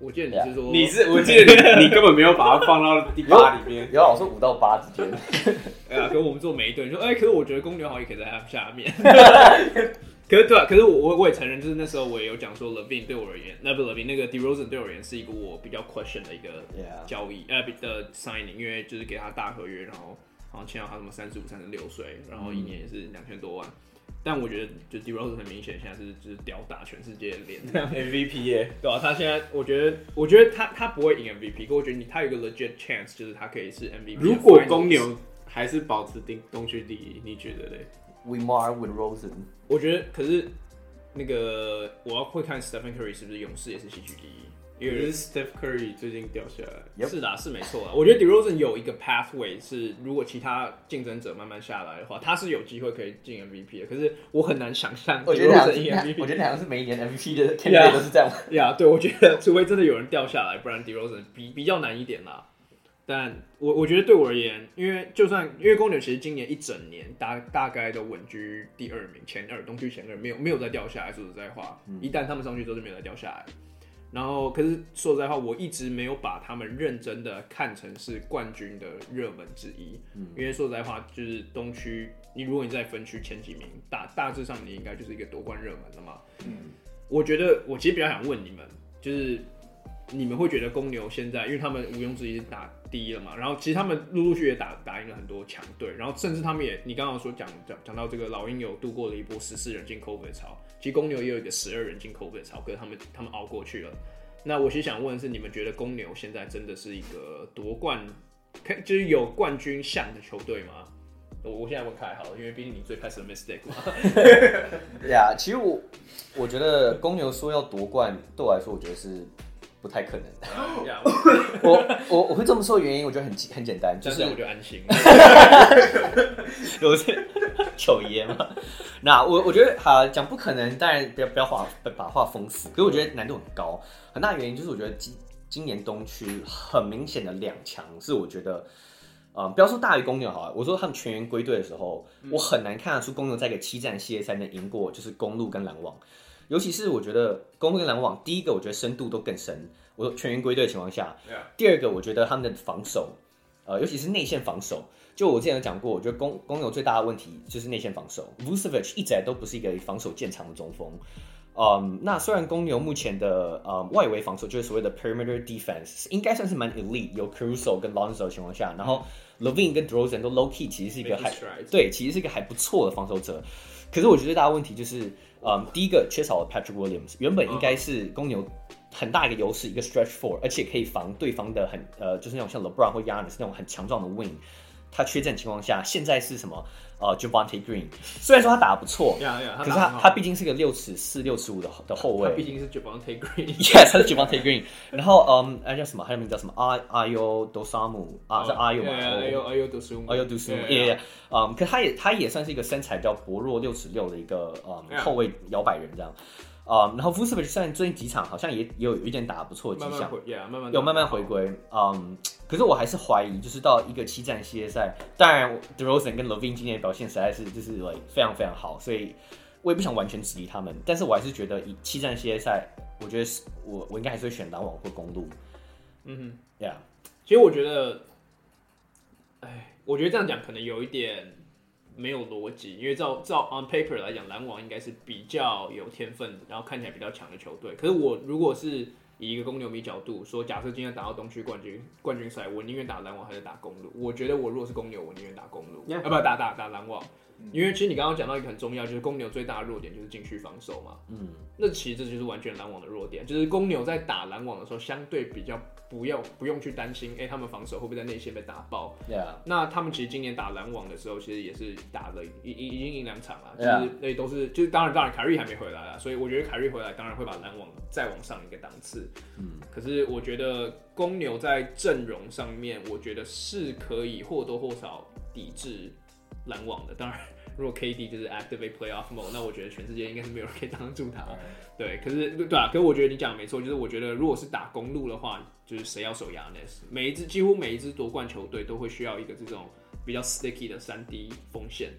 我記得你是說我記得你根本沒有把它放到第8裡面。 有我說5到8之間。 跟我們做每一队说，可是我覺得公牛好像也可以在他下面。可是对啊，可是我也承認，就是那時候我也有講說 ，Levine 对我而言，那个 DeRozan 对我而言是一個我比較 question 的一個交易，的 signing， 因為就是給他大合約，然後好像簽到他什麼35、36歲，然後一年也是2000多萬。但我覺得，就 DeRozan 很明顯現在是就是吊打全世界的臉 ，MVP 耶， 對啊，他現在我覺得他不會贏 MVP， 可我覺得他有一個 legit chance，就是他可以是 MVP。 如果公牛還是保持東區第一，你覺得嘞 ？Wimar with Rosen， 我覺得可是那個我要會看 Stephen Curry 是不是勇士也是西區第一。 可是 Steph Curry 最近掉下來， 是啦，是沒錯啦。我覺得 DeRozan 有一個 pathway 是，如果其他競爭者慢慢下來的話，他是有機會可以進 MVP 的。可是我很難想象 DeRozan 贏 MVP。 我覺得好像是每一年 MVP 的 candidate 都是這樣。 對，我覺得除非真的有人掉下來，不然 DeRozan 比較難一點啦。但我覺得對我而言，因為公牛其實今年一整年大概都穩居第2名，前2，東區前2，沒有再掉下來。說實在話，一旦他們上去之後就沒有再掉下來。然後，可是說實在話，我一直沒有把他們認真的看成是冠軍的熱門之一。因為說實在話，就是東區，如果你在分區前幾名，大致上你應該就是一個奪冠熱門了嘛。我覺得我其實比較想問你們，就是你們會覺得公牛現在，因為他們毋庸置疑是打第一了嘛，然後其實他們陸陸續續也打贏了很多強隊，然後甚至他們也，你剛剛說講到這個老鷹有度過了一波14人進 COVID 潮，其實公牛也有一個12人進 COVID 潮，可是他們熬過去了。那我其實想問的是，你們覺得公牛現在真的是一個奪冠，就是有冠軍相的球隊嗎？我現在問凱好了，因為畢竟你最 pessimistic 嘛。 其實我覺得公牛說要奪冠，對我來說，我覺得是不太可能的。我會這麼說的原因，我覺得很簡單，就是我就安心。 有些糗爺嘛。那我覺得講不可能，當然不要把話封死。可是我覺得難度很高，很大的原因就是我覺得今年東區很明顯的兩強是我覺得。不要說大於公牛好了，我說他們全員歸隊的時候，我很難看得出公牛在一個7戰系列賽能贏過，就是公鹿跟籃網。尤其是我覺得公鹿跟籃網，第一個我覺得深度都更深。我說全員歸隊的情況下，第二個我覺得他們的防守，尤其是內線防守，就我之前有講過，我覺得公牛最大的問題就是內線防守。Vucevic 一直來都不是一個防守見長的中鋒。那雖然公牛目前的外圍防守就是所謂的 perimeter defense 應該算是蠻 elite， 有 Caruso 跟 Lonzo 的情況下，然後 Levine 跟 DeRozan 都 low key， 其實是一個其實是一個還不錯的防守者。可是我覺得最大的問題就是第一個缺少了 Patrick Williams， 原本應該是公牛很大一個優勢，一個 stretch four， 而且可以防對方的就是那種像 LeBron 或 Giannis 那種很強壯的 wing。他缺陣情況下，現在是什麼？Javonte Green， 雖然說他打得不錯，可是他畢竟是個6尺4、6尺5的後衛。 他畢竟是 Javonte Green，Yes， 他是 Javonte Green。然後叫什麼？還有名叫什麼？Ayo Dosunmu 是 Ayo 嘛？Ayo Dosunmu，可他也算是一個身材比較薄弱6尺6的一個後衛搖擺人這樣。然後 Vucevic 雖然最近幾場好像也有一點打得不錯的跡象，慢慢回歸。可是我還是懷疑，就是到一個7戰系列賽，當然 DeRozan 跟 Levine 今年的表現實在是就是非常非常好，所以我也不想完全質疑他們，但是我還是覺得以7戰系列賽，我覺得我應該還是會選籃網或公鹿。 其實我覺得，我覺得這樣講可能有一點沒有邏輯，因為照 on paper 來講，籃網應該是比較有天分，然後看起來比較強的球隊。可是我如果是以一個公牛迷角度說，假設今天打到東區冠軍賽，我寧願打籃網還是打公鹿？我覺得我如果是公牛，我寧願打公鹿，不打籃網。因為其實你剛剛講到一個很重要，就是公牛最大的弱點就是禁區防守嘛。那其實這就是完全籃網的弱點，就是公牛在打籃網的時候，相對比較不用去擔心，他們防守會不會在內線被打爆。那他們其實今年打籃網的時候，其實也是打了已經贏2場了，就是那都是就是當然凱瑞還沒回來啦，所以我覺得凱瑞回來當然會把籃網再往上一個檔次。可是我覺得公牛在陣容上面，我覺得是可以或多或少抵制籃網的。當然，如果 KD 就是 activate playoff mode， 那我覺得全世界應該是沒有人可以擋住他。對，可是我覺得你講的沒錯，就是我覺得如果是打公鹿的話，就是誰要守 Giannis， 幾乎每一支奪冠球隊都會需要一個這種比較 sticky 的3D 鋒線。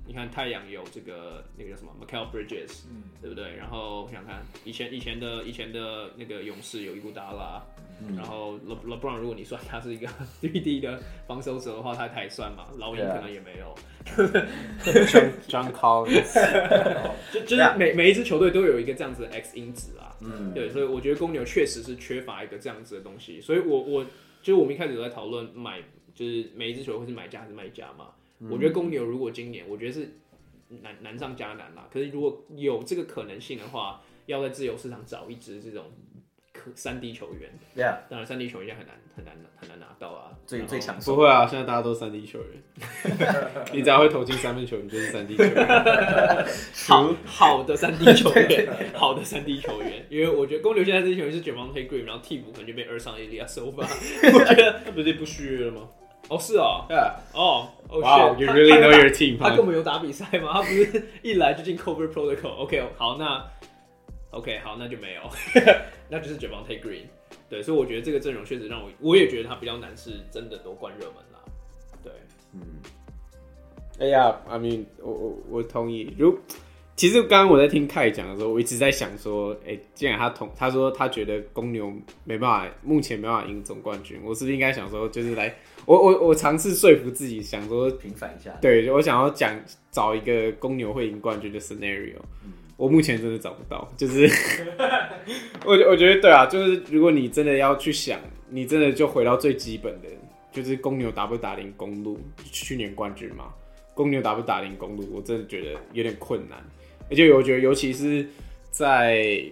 你看太陽有這個那個叫什麼 Mikal Bridges，對不對？然後我想看以前的那個勇士有伊古達拉，然後 LeBron 如果你算他是一個 3D 的防守者的話，他也算嘛，老鷹可能也没有。 John Collins， 就是每一支球隊都有一個這樣子的 X 因子啊，對，所以我覺得公牛確實是缺乏一個這樣子的東西，所以就是我們一開始都在討論就是每一支球隊會是買家還是賣家嘛。我覺得公牛如果今年，我覺得是難上加難啦。可是如果有這個可能性的話，要在自由市場找一支這種3D 球員，當然3D 球员很難拿到啊。 最抢手。 不會啊，现在大家都3D 球員，你只要會投進3分球，你就是3D 球员。 好的3D 球員，好的3D 球员，因为我覺得公牛現在這些球員是 Javonte Green， 然後替補可能就被Ersan Ilyasova， 我覺得他不是不續約了嗎？哦，是哦， Wow, you really know your team. 他根本有打比賽嗎？他不是一來就進 COVID Protocol。OK， 好，那就沒有，那就是 Javonte Green。對，所以我覺得這個陣容確實讓我也覺得他比較難，是真的奪冠熱門啦。對， 哎呀 I mean， 我同意。其實剛剛我在聽凱講的時候，我一直在想說，既然他說他覺得公牛目前沒辦法贏總冠軍，我是不是應該想說，就是來我嘗試說服自己，想說平反一下。 對，我想要找一個公牛會贏冠軍的 scenario，我目前真的找不到。就是我覺得對啊，就是如果你真的要去想，你真的就回到最基本的，就是公牛打不打贏公鹿，去年冠軍嘛，公牛打不打贏公鹿，我真的覺得有點困難。而且我覺得，尤其是在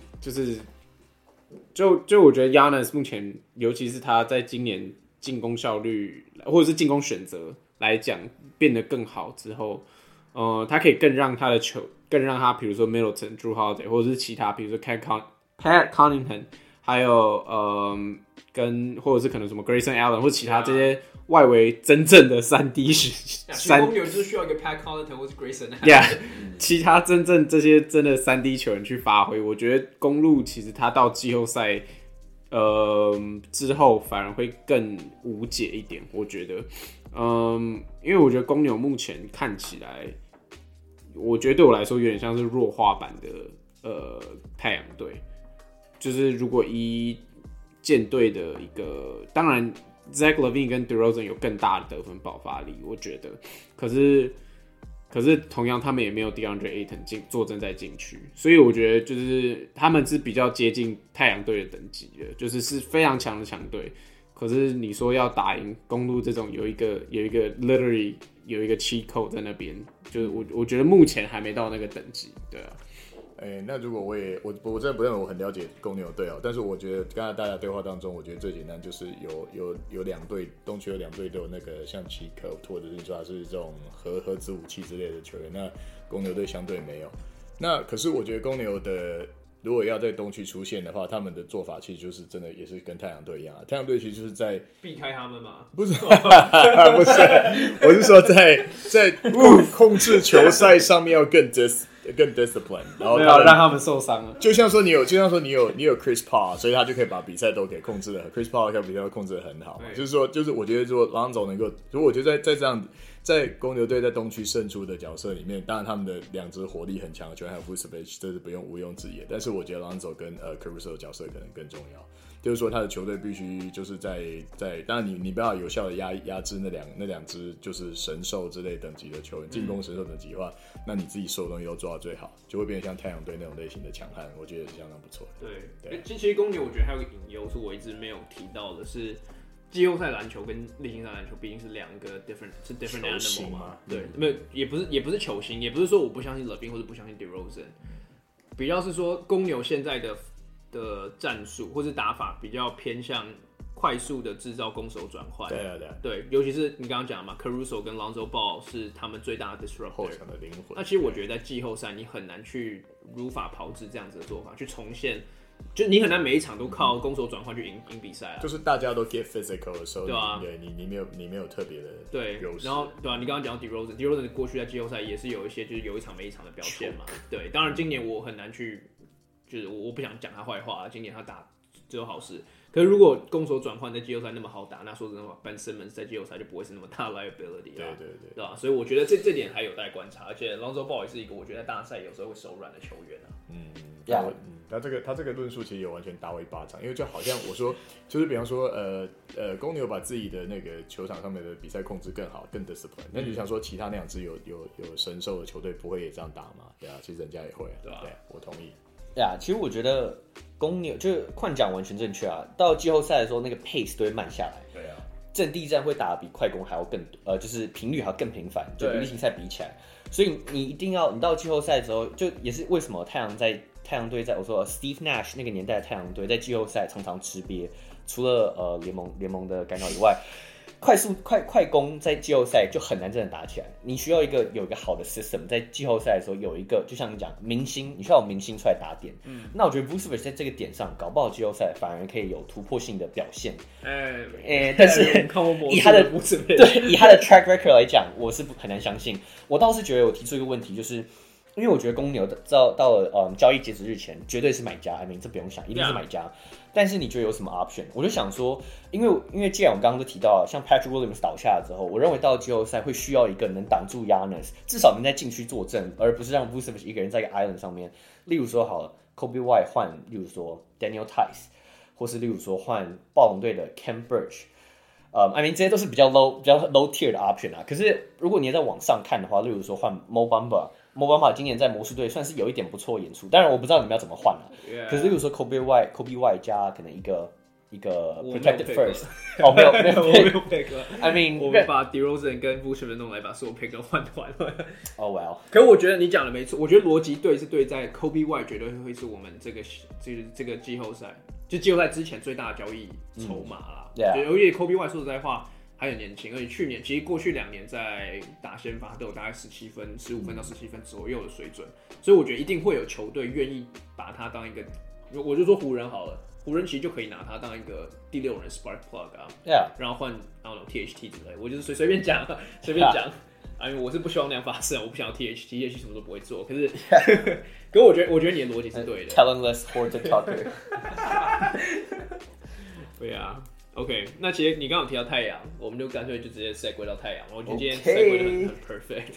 就我覺得 Giannis 目前，尤其是他在今年進攻效率或者是進攻選擇來講變得更好之後，他可以更讓他比如說 Middleton、Drew Holiday 或者是其他，比如說 Pat Connaughton， 還有或者是可能什麼 Grayson Allen 或者其他這些外圍真正的3D 公牛就是需要一個 Pat Connaughton 或是 Grayson Allen， 其他真正這些真的3D 球員去發揮，我覺得公鹿其實他到季後賽之後反而會更無解一點，我覺得，因為我覺得公牛目前看起來，我覺得對我來說有點像是弱化版的太陽隊，就是如果以艦隊的一個，當然 Zach LaVine 跟 DeRozan 有更大的得分爆發力，我覺得，可是同樣他們也沒有 DeAndre Ayton 坐鎮在禁區，所以我覺得就是他們是比較接近太陽隊的等級的，就是非常強的强隊。可是你說要打贏公鹿這種有一個 literally 有一個 cheat code 在那邊，就是我覺得目前還沒到那個等級，對啊。 那如果我真的不認為我很了解公牛隊哦，但是我覺得剛才大家對話當中，我覺得最簡單就是有兩隊，東區有2隊都有那個像奇科，或者是你說他是這種核子武器之類的球員，那公牛隊相對沒有。那可是我覺得公牛的如果要在東區出現的話，他們的做法其實就是真的也是跟太陽隊一樣啊。太陽隊其實就是在避開他們嘛？ 不是，不是，我是說在控制球賽上面要更 discipline， 然後让他们受伤了。 就像说你有 Chris Paul， 所以他就可以把比赛都给控制的 ，Chris Paul 比赛都控制的很好嘛。就是我覺得說Lonzo能夠，所以我覺得在這樣在公牛隊在東區勝出的角色裡面，當然他們的2支火力很強的球員還有 Vucevic， 這是毋庸置疑的。但是我覺得 Lonzo 跟Caruso 的角色可能更重要。就是說，他的球隊必須就是在，當然你不要有效的壓制那兩支就是神獸之類等級的球員，進攻神獸等級的話，那你自己所有東西都做到最好，就會變成像太陽隊那種類型的強悍，我覺得是相當不錯的。 對，其實公牛我覺得還有一個隱憂是我一直沒有提到的是，季後賽籃球跟例行賽籃球畢竟是兩個 different animal 嘛。對，沒有也不是球星，也不是說我不相信 LaVine 或者不相信 DeRozan， 比較是說公牛現在的戰術或是打法比較偏向快速的制造攻守轉換。對，尤其是你剛剛講的嘛 ，Caruso 跟 Lonzo Ball 是他們最大的 disruptor， 後場的靈魂。 那其實我覺得在季後賽你很難去如法炮製這樣子的做法，去重現，就你很難每一場都靠攻守轉換去贏比賽啊。 就是大家都 get physical 的時候， 對啊， 你沒有特別的對，然後對啊，你剛剛講到 DeRozan 過去在季後賽也是有一些就是有一場沒一場的表現嘛。對，當然今年我很難去。就是我不想講他壞話，今年他打只有好事， 可是如果攻守轉換在季後賽那麼好打，那說真的話 ，Ben Simmons 在季後賽就不會是那麼大 liability 啊，對吧？所以我覺得這點還有待觀察，而且 Lonzo Ball 也是一個我覺得在大賽有時候會手軟的球員啊。 他這個論述其實有完全打我一巴掌，因為就好像我說，就是比方說，公牛把自己的那個球場上面的比賽控制更好，更 discipline。那你就想說，其他那2支有神獸的球隊不會也這樣打嗎？对啊，其實人家也會，對吧？對，我同意。 其實我覺得公牛就是寬講完全正確啊。到季後賽的時候，那個 pace 都會慢下來。 對啊，陣地戰會打得比快攻還要更就是頻率還要更頻繁，就比例行賽比起來。所以你一定要，你到季後賽的時候，就也是為什麼太陽隊在我說 Steve Nash 那個年代的太陽队在季後賽常常吃瘪，除了聯盟的干擾以外。快攻在季後賽就很難真的打起來，你需要有一個好的 system， 在季後賽的時候有一個，就像你講明星，你需要有明星出來打點。那我覺得 Vucevic 在這個點上，搞不好季後賽反而可以有突破性的表現。但是以他的track record 來講，我是很難相信。我倒是覺得我提出一個問題，就是因為我覺得公牛到了交易截止日前，絕對是買家，這不用想，一定是買家。但是你覺得有什麼 option？ 我就想說，因為既然我刚剛都提到了，像 Patrick Williams 倒下了之後，我認為到了季後賽會需要一個能擋住 Giannis， 至少能在禁區坐鎮，而不是讓 Vucevic 一個人在一個 island 上面。例如說好了 ，Kobe White 換，例如說 Daniel Tice， 或是例如說換暴龍隊的 Khem Birch。這些都是比較 low tier 的 option 啊。可是如果你要再往上看的話，例如說換 Mo Bamba 今年在魔術隊算是有一點不錯的演出，當然我不知道你們要怎麼換啊。可是例如說 Kobe White 加可能一個 protected first， 沒有 pick。 我們把 DeRozan 跟 Vucevic 弄來把所有 pick 都換了。 well。 可是我覺得你講的沒錯，我覺得邏輯對是對在 Kobe White 絕对會是我們這個季後賽，就季後賽之前最大的交易籌碼啦。尤其 Kobe White 說實在話。還很年輕，而且其實過去2年在打先發都有大概15分到17分左右的水準，所以我覺得一定會有球隊願意把他當一個，我就說湖人好了，湖人其實就可以拿他當一個第6人 spark plug 啊，然後換THT 之類，我就是隨便講，因為我是不希望那樣發生，我不想要 THT 什麼都不會做，可是我覺得你的邏輯是對的。 Talentless sports talker。 对啊。OK， 那其實你剛剛有提到太陽，我們就乾脆就直接 segue 到太陽。我覺得今天 segue 就很 perfect。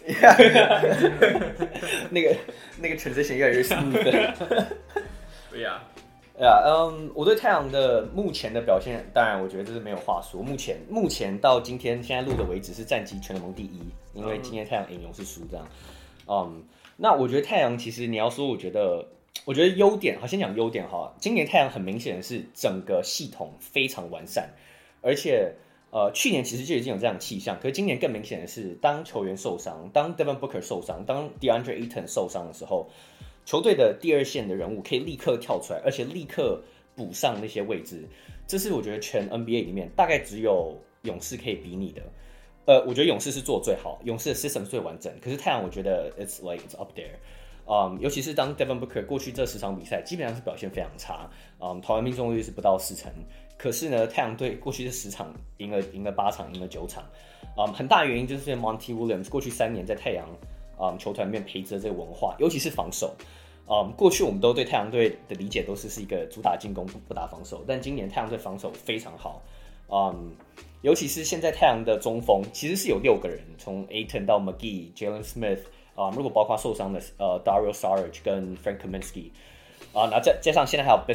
那個 transition 越來越 smooth。 對呀， 我對太陽的目前的表現，當然我覺得這是沒有話說。目前到今天現在錄的為止是戰績全聯盟第1，因為今天太陽贏勇士輸這樣。那我覺得太陽其實你要說，我覺得優點，好，先講優點哈。今年太陽很明顯的是整個系統非常完善，而且去年其實就已經有這樣的氣象，可是今年更明顯的是，當球員受傷，當 Devin Booker 受傷，當 DeAndre Ayton 受傷的時候，球隊的第2線的人物可以立刻跳出來，而且立刻補上那些位置。這是我覺得全 NBA 裡面大概只有勇士可以比擬的。我覺得勇士是做最好，勇士的 system 最完整，可是太陽我覺得 it's up there。尤其是當 Devin Booker 過去這10場比賽基本上是表現非常差，投籃命中率是不到40%，可是呢，太陽隊過去這10場贏了8場，贏了9場，很大原因就是 Monty Williams 過去3年在太陽球團裡面培植的這個文化，尤其是防守。過去我們都對太陽隊的理解都是一個主打進攻不打防守，但今年太陽隊防守非常好，尤其是現在太陽的中鋒其實是有6個人，從 Ayton 到 McGee、Jalen Smith。如果包括受傷的Dario Saric 跟 Frank Kaminsky， 然後加上現在還有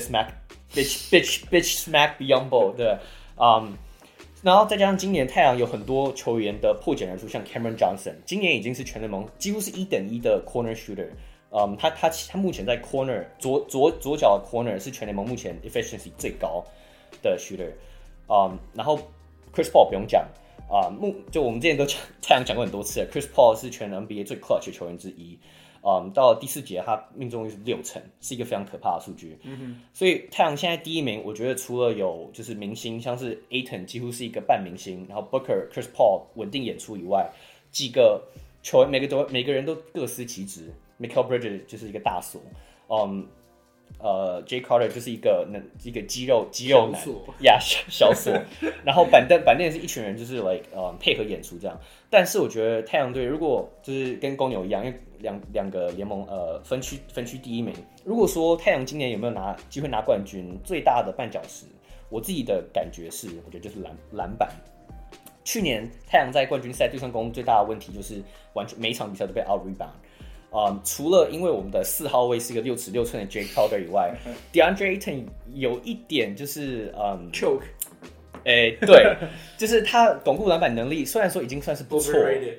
Bitch Smack Biyombo， 對，然後再加上今年太陽有很多球員的破繭而出，像 Cameron Johnson， 今年已經是全聯盟幾乎是1等1的 corner shooter， 他目前在 corner 左腳的 corner 是全聯盟目前 efficiency 最高的 shooter， 然後 Chris Paul 不用講。就我們之前都太陽講過很多次了 ，Chris Paul 是全 NBA 最 clutch 的球員之一。到了第4節，他命中率是60%，是一個非常可怕的數據。所以太陽現在第1名，我覺得除了有就是明星，像是 Ayton 幾乎是一個半明星，然後 Booker、Chris Paul 穩定演出以外，幾個球員每個人都各司其職。Mikal Bridges 就是一個大鎖。Jay Carter 就是一個肌肉男呀，小锁。然後板凳是一群人，就是 配合演出這樣。但是我覺得太陽隊如果就是跟公牛一樣，因為兩個聯盟分區第1名。如果說太陽今年有沒有機會拿冠軍，最大的絆腳石， 我自己的感覺是，我覺得就是籃板。去年太陽在冠軍賽對上公最大的問題就是完全每一場比賽都被 out rebound。除了因為我們的4號位是一個6尺6寸的 Jake Crowder 以外，DeAndre Ayton 有一點就是 choke。 对，就是他巩固籃板能力，虽然說已經算是不錯，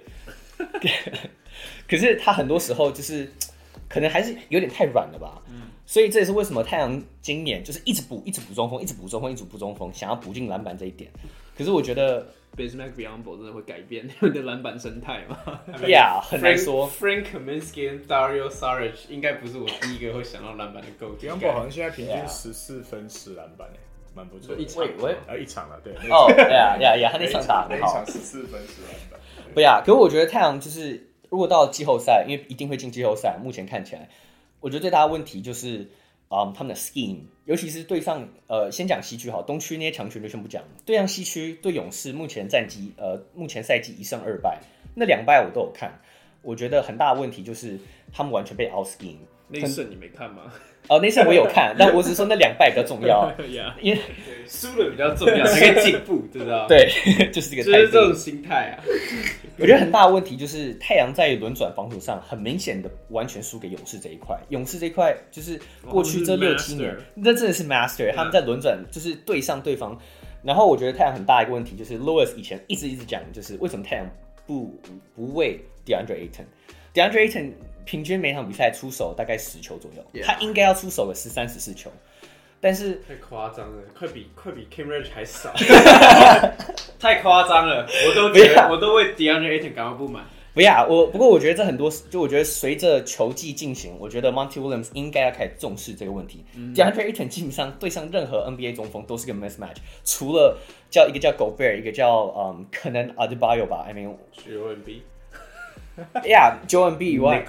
可是他很多時候就是可能還是有點太軟了吧。所以這也是為什麼太陽今年就是一直補中鋒，一直補中鋒，想要補進籃板這一點。可是我覺得 Bismack Biyombo 真的會改變你們的籃板生態嗎 ？Yeah， 很難說。 Frank Kaminsky 跟 Dario Saric 應該不是我第一個會想到籃板的 go-to。Biyombo 好像現在平均14分10籃板蠻不錯。 一場了，對。 Yeah，他那场打很好。 14分10籃板。 不呀，可是我覺得太陽就是如果到季後賽，因為一定會进季後賽，目前看起來。我覺得最大的問題就是，他们的 scheme， 尤其是对上先講西區好，東區那些強權就先不講。對上西區，對勇士目前賽季1勝2敗，那2敗我都有看。我覺得很大的問題就是他們完全被 out scheme。 那一勝你沒看嗎？ 那一勝我有看，但我只是說那2敗比較重要，因為輸的比較重要，才可以進步，知道？ 對，就是這個態度， 就是這種心態啊。 我覺得很大的問題就是太陽在輪轉防守上很明顯的完全輸給勇士這一塊。勇士這一塊就是過去這6-7年，那真的是 master。他們在輪轉就是對上對方。然後我覺得太陽很大一個問題就是 Lewis 以前一直講，就是為什麼太陽不餵 DeAndre Ayton。DeAndre Ayton 平均每場比賽出手大概10球左右，他應該要出手個13-14球。但是太誇張了，快比 Cam Reddish 還少，太誇張了，我都為 DeAndre Ayton 感到不滿。 不過我覺得這很多，就我覺得隨着球季進行，我覺得 Monty Williams 應該要開始重視這個問題。DeAndre Ayton 基本上對上任何 NBA 中鋒都是個 mismatch， 除了一個叫 Gobert， 一個叫可能 Adebayo 吧 ，I mean Joel Embiid。Joel Embiid 以外。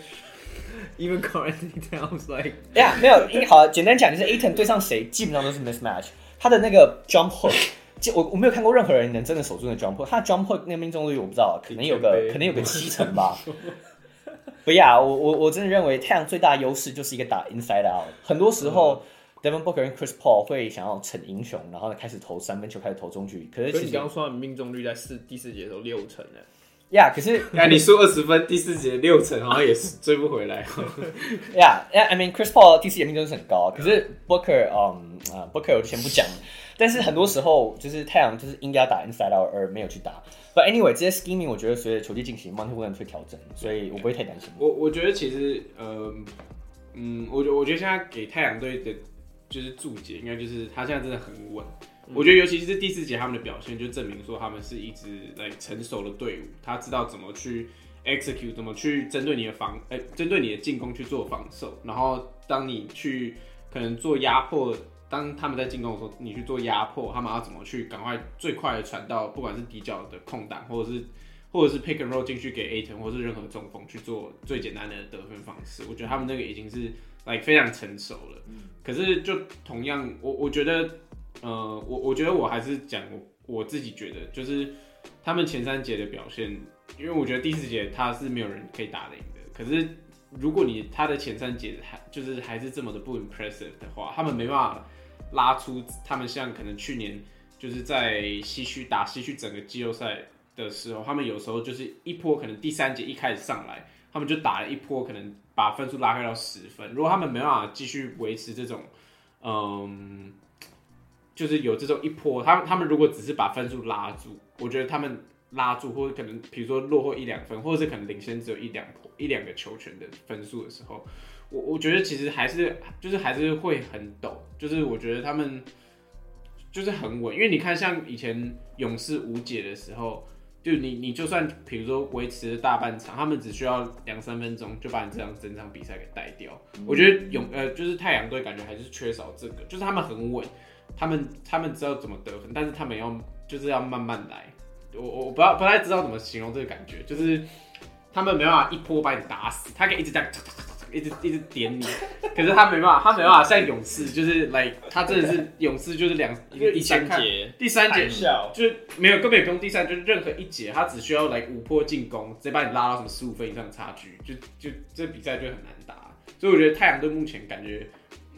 Even Anthony Towns like 没有，好，簡單講就是 Ayton 對上誰基本上都是 mismatch。他的那個 jump hook， 我沒有看過任何人能真的守住那 jump hook。他的 jump hook 那個命中率我不知道，可能有個70%吧。不呀，我真的認為太陽最大的優勢就是一個打 inside out。很多時候Devin Booker 跟 Chris Paul 會想要逞英雄，然後開始投3分球，開始投中距離。可是其實你剛剛說的命中率在第4節的時候60%呢。 可是你輸20分，第4節60%好像也是追不回來。 I mean Chris Paul 第4節命中率很高，可是 Booker Booker 我就先不講。但是很多時候就是太陽就是應該要打 inside out 而沒有去打。But anyway，這些 scheming 我覺得隨着球季進行 ，Monty Williams 會調整，所以我不會太擔心。 我覺得其實我覺得現在給太陽隊的就是注解，應該就是他現在真的很穩。我覺得尤其是第4節他們的表現，就證明說他們是一支成熟的隊伍，他知道怎麼去 execute， 怎麼去針對你的針對你的進攻去做防守，然後當你去可能做壓迫，當他們在進攻的時候，你去做壓迫，他們要怎麼去趕快最快的傳到不管是底角的空檔，或者是 pick and roll 進去給 Ayton 或是任何中鋒去做最簡單的得分方式。我覺得他们那個已經是非常成熟了。可是就同樣，我覺得。我覺得我還是講我自己覺得，就是他們前3節的表現，因為我覺得第4節他是沒有人可以打得贏的。可是如果他的前3節就是還是這麼的不 impressive 的話，他們沒辦法拉出他們像可能去年就是在西區整個季後賽的時候，他們有時候就是一波可能第3節一開始上來，他們就打了一波，可能把分數拉開到10分。如果他們沒辦法繼續維持這種就是有這種一波，他們如果只是把分數拉住，我覺得他們拉住，或者可能比如說落後1-2分，或者是可能領先只有一兩個球權的分數的時候，我覺得其實還是會很陡，就是我覺得他們就是很穩，因為你看像以前勇士無解的時候，就你就算比如說維持了大半場，他們只需要2-3分鐘就把你整場比賽給帶掉。我覺得就是太陽隊感覺還是缺少這個，就是他們很穩。他們知道怎麼得分，但是他們要慢慢來。我不太知道怎麼形容這個感覺，就是他們沒辦法一波把你打死，他可以一直這樣一直點你，可是他沒辦法像勇士，就是他真的是勇士就是第三節就是根本也不用第3，就是任何一節他只需要5波進攻，直接把你拉到什麼15分以上的差距，就這比賽就很難打。所以我覺得太陽隊目前感覺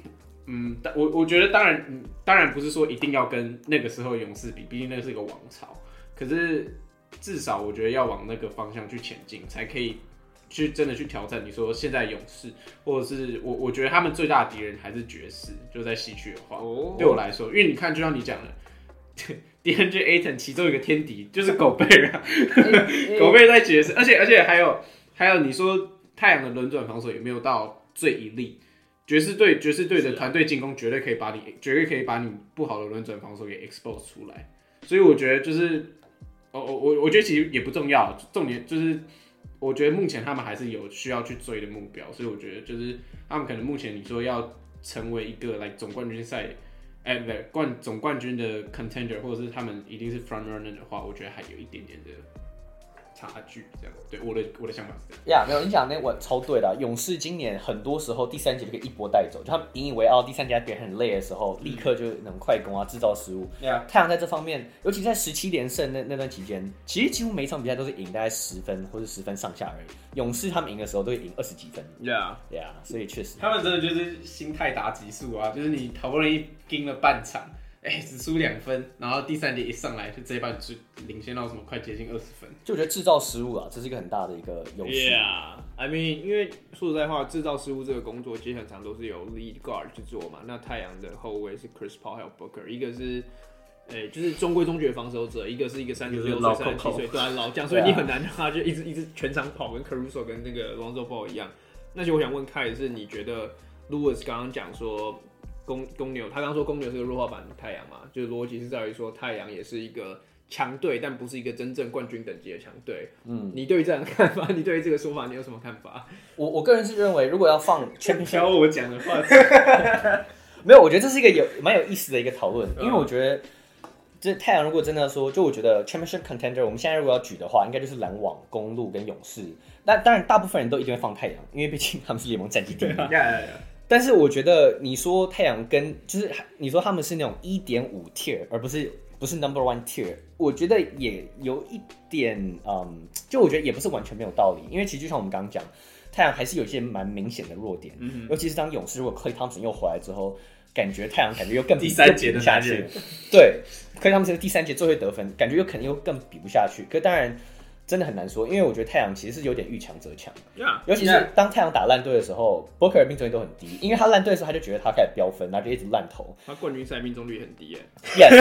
我覺得當然不是說一定要跟那個時候勇士比，畢竟那是一個王朝。可是至少我覺得要往那個方向去前進，才可以去真的去挑戰。你說現在勇士，或者是我覺得他們最大的敵人還是爵士，就在西區的話，對我來說，因為你看，就像你講的，DeAndre Ayton 其中一個天敵就是狗貝啊，狗貝在爵士，而且還有你說太陽的輪轉防守也沒有到最一力。爵士隊的團隊進攻絕對可以把你不好的輪轉防守給 expose 出來，所以我覺得就是我觉得其實也不重要，重點就是我覺得目前他們還是有需要去追的目標，所以我覺得就是他們可能目前你說要成為一個總冠軍賽，總冠軍的 contender， 或者是他們一定是 front runner 的話，我覺得還有一點點的差距，這樣对我的想法是这样。 没有，你講那我超對的。勇士今年很多時候第三節就可以一波帶走，就他們引以為傲，第三節別人很累的時候，立刻就能快攻啊，制造失誤。太陽在這方面，尤其在17連勝那段期間，其實幾乎每一場比賽都是贏大概10分或是10分上下而已。勇士他們贏的時候都會贏20幾分。所以確實， 他們真的就是心態打級數啊，就是你好不容易盯了半場。只輸2分，然後第三節一上來就這一半就領先到什麼快接近20分， 就我覺得制造失誤啊，這是一個很大的一個優勢。 I mean， 因為說實在話，制造失誤這個工作其實很常都是由 lead guard 去做嘛。那太陽的後衛是 Chris Paul 還有 Booker， 一個是就是中規中矩的防守者，一個是一個36歲、37歲，对啊，老將，所以你很难让他就一直全場跑，跟 Caruso 跟那個 Lonzo Ball 一樣。那其實我想問凱是，你覺得 Lewis 剛剛講說？公牛，他剛說公牛是個弱化版的太陽嘛，就是邏輯是在於說太陽也是一個強隊，但不是一個真正冠軍等級的強隊。你對於這樣的看法，你對於這個說法，你有什麼看法？ 我個人是認為，如果要放 championship， 挑我講的話， 沒有，我覺得這是一個蠻有意思的一個討論，因為我覺得這太陽如果真的說，就我覺得 championship contender， 我們現在如果要舉的話，應該就是籃網、公鹿跟勇士。那當然，大部分人都一定會放太陽，因為畢竟他們是聯盟戰績第一。但是我覺得你說太陽跟就是你說他們是那種1.5 tier， 而不是 number one tier， 我覺得也有一點就我覺得也不是完全沒有道理，因為其實就像我們剛剛講，太陽還是有一些蠻明顯的弱點，尤其是當勇士如果 Klay Thompson 又回來之後，感覺太陽感覺又更比第三節的下去， 對，Klay Thompson第三節最会得分，感覺又肯定又更比不下去，可当然。真的很难說，因為我覺得太陽其實是有點遇強則強，尤其是當太陽打爛隊的時候 ，Booker 的命中率都很低，因為他爛隊的時候他就覺得他開始飆分，然後就一直爛投。 他冠軍賽命中率很低耶。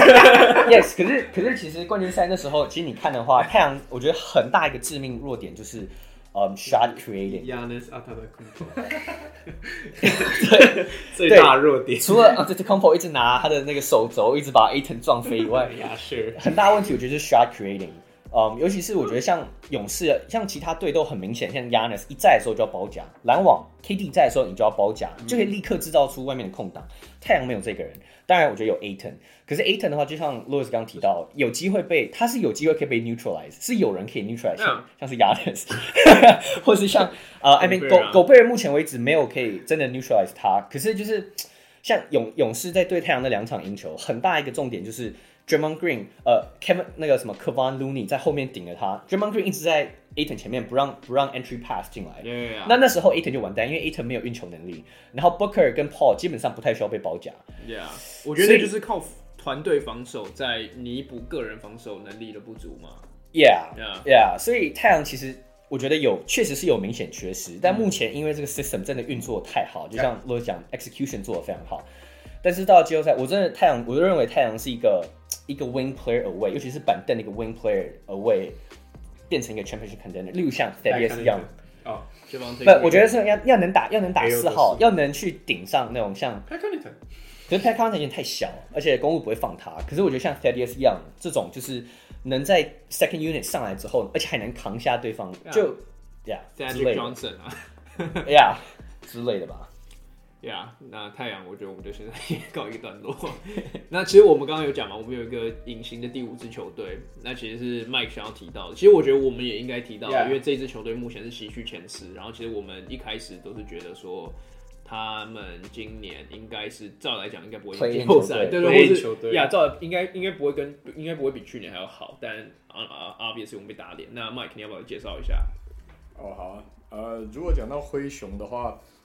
Yes， 可是其實冠軍賽那時候，其實你看的話，太陽我覺得很大一個致命弱點就是shot creating。 Giannis Antetokounmpo 对， 最大的弱点。 除了Antetokounmpo 一直拿他的那個手肘一直把 Ayton 撞飛以外，很大的問題我覺得是 shot creating。尤其是我覺得像勇士，像其他隊都很明顯，像 Giannis 一在的時候就要包夾，籃網 KD 在的時候你就要包夾，就可以立刻制造出外面的空檔。太陽沒有這個人，當然我覺得有 Ayton， 可是 Ayton 的話，就像 Louis 剛剛提到，有機會他是有機會可以被 neutralize， 是有人可以 neutralize， 像是 Giannis， 或是像I mean 狗貝爾目前為止沒有可以真的 neutralize 他，可是就是像勇士在對太陽的2場贏球，很大一個重點就是。Draymond Green， Kevin 那個什麼 Kevon Looney 在後面頂着他 ，Draymond Green 一直在 Ayton 前面不讓 entry pass 進來。那時候 Ayton 就完蛋，因為 Ayton 沒有運球能力，然後 Booker 跟 Paul 基本上不太需要被包夾。 我覺得就是靠團隊防守在彌補個人防守能力的不足嘛。 所以太陽其實我覺得確實是有明顯缺失，但目前因為這個 system 真的運作太好，就像羅講 execution 做得非常好。但是到了季後賽，我就認為太陽是一個 wing player away， 尤其是板凳的一個 wing player away， 變成一個 championship contender， 例如像 Thaddeus Young， 不，我覺得是要能打4號，要能去頂上那種像 Pat Connaughton， 可是 Pat Connaughton 有點太小，而且公鹿不會放他。可是我覺得像 Thaddeus Young 這種，就是能在 second unit 上來之後，而且還能扛下對方，就 Magic Johnson 之類的吧。 那太陽，我覺得我們就現在也告一個段落。那其實我們剛剛有講嘛，我們有一個隱形的第5支球隊，那其實是 Mike 想要提到的。其實我覺得我們也應該提到，因為這支球隊目前是西區前10，然後其實我們一開始都是覺得說，他們今年應該是照來講應該不會進季後賽，對，或是照應該不會比去年還要好，但obviously 我們被打臉。那 Mike 你要不要介紹一下？ 好啊，如果講到灰熊的話。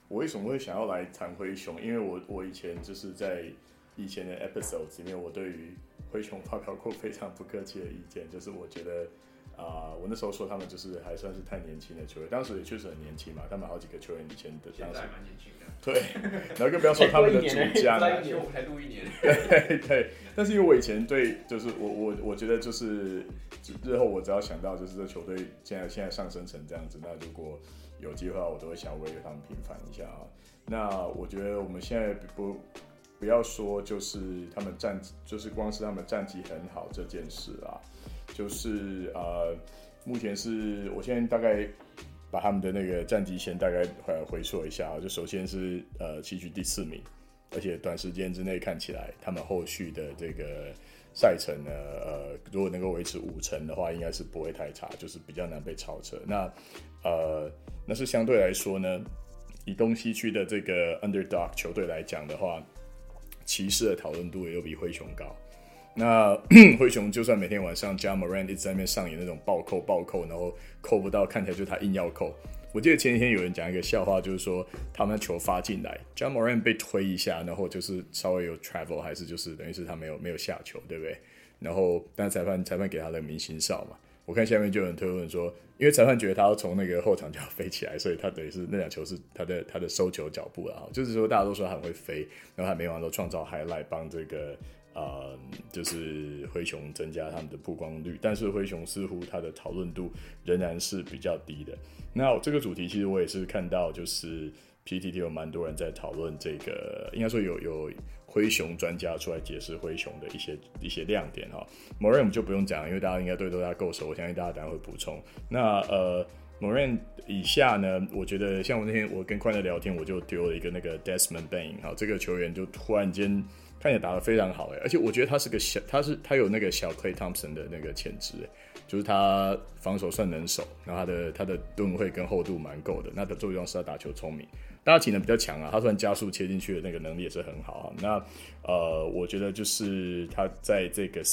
我為什麼會想要來談灰熊？因為我以前就是在以前的 episodes 裡面，我對於灰熊發表過非常不客氣的意見，就是我覺得我那時候說他們就是還算是太年輕的球員，當時也確實很年輕嘛，他們好幾個球員以前的當時還蠻年輕的，对，然後更不要說他們的主將， 我才錄1年， 对，但是因為我以前对，就是我覺得就是日後我只要想到就是這球隊現在上升成這樣子，那如果有機會的話，我都會想要為他們平反一下啊。那我覺得我們現在不要說就是他們就是光是他們戰績很好這件事啊，就是目前是我现在大概把他們的那個戰績先大概回溯一下啊，就首先是西區第4名，而且短時間之內看起來他們後續的這個賽程呢，如果能夠維持5成的話，應該是不會太差，就是比較難被超車。那是相對來說呢，以東西區的這個 underdog 球隊來講的話，騎士的討論度也有比灰熊高。那灰熊就算每天晚上 Ja Morant 一直在那邊上演那種暴扣，然後扣不到，看起來就是他硬要扣。我記得前幾天有人講一個笑話，就是說他們球發進來 Ja Morant 被推一下，然後就是稍微有 travel， 還是就是等於是他沒有下球，對不对？然後但裁判給他的明星哨嘛。我看下面就有人推論說，因為裁判覺得他要從那個後場就要飛起來，所以他等於是那兩球是他的收球腳步啦。就是說大家都說他很會飛，然後他每晚都創造 highlight 幫這個就是灰熊增加他們的曝光率，但是灰熊似乎他的討論度仍然是比較低的。那這個主題其實我也是看到，就是 PTT 有蠻多人在討論這個，應該說有灰熊專家出來解釋灰熊的一些亮點哈。Morant 我們就不用講，因為大家應該對他夠熟，我相信大家等一下會補充。那Morant 以下呢，我覺得像我那天我跟寬樂聊天，我就丟了一個那個 Desmond Bane 哈，這個球員就突然間看起來打得非常好而且我覺得他有那個小 Klay Thompson 的那個潛質就是他防守算能守，然後他的盾位跟厚度蠻夠的，那的作用是他打球聰明。大家体能比较強啊，他算加速切進去的那個能力也是很好啊。那我覺得就是他在這個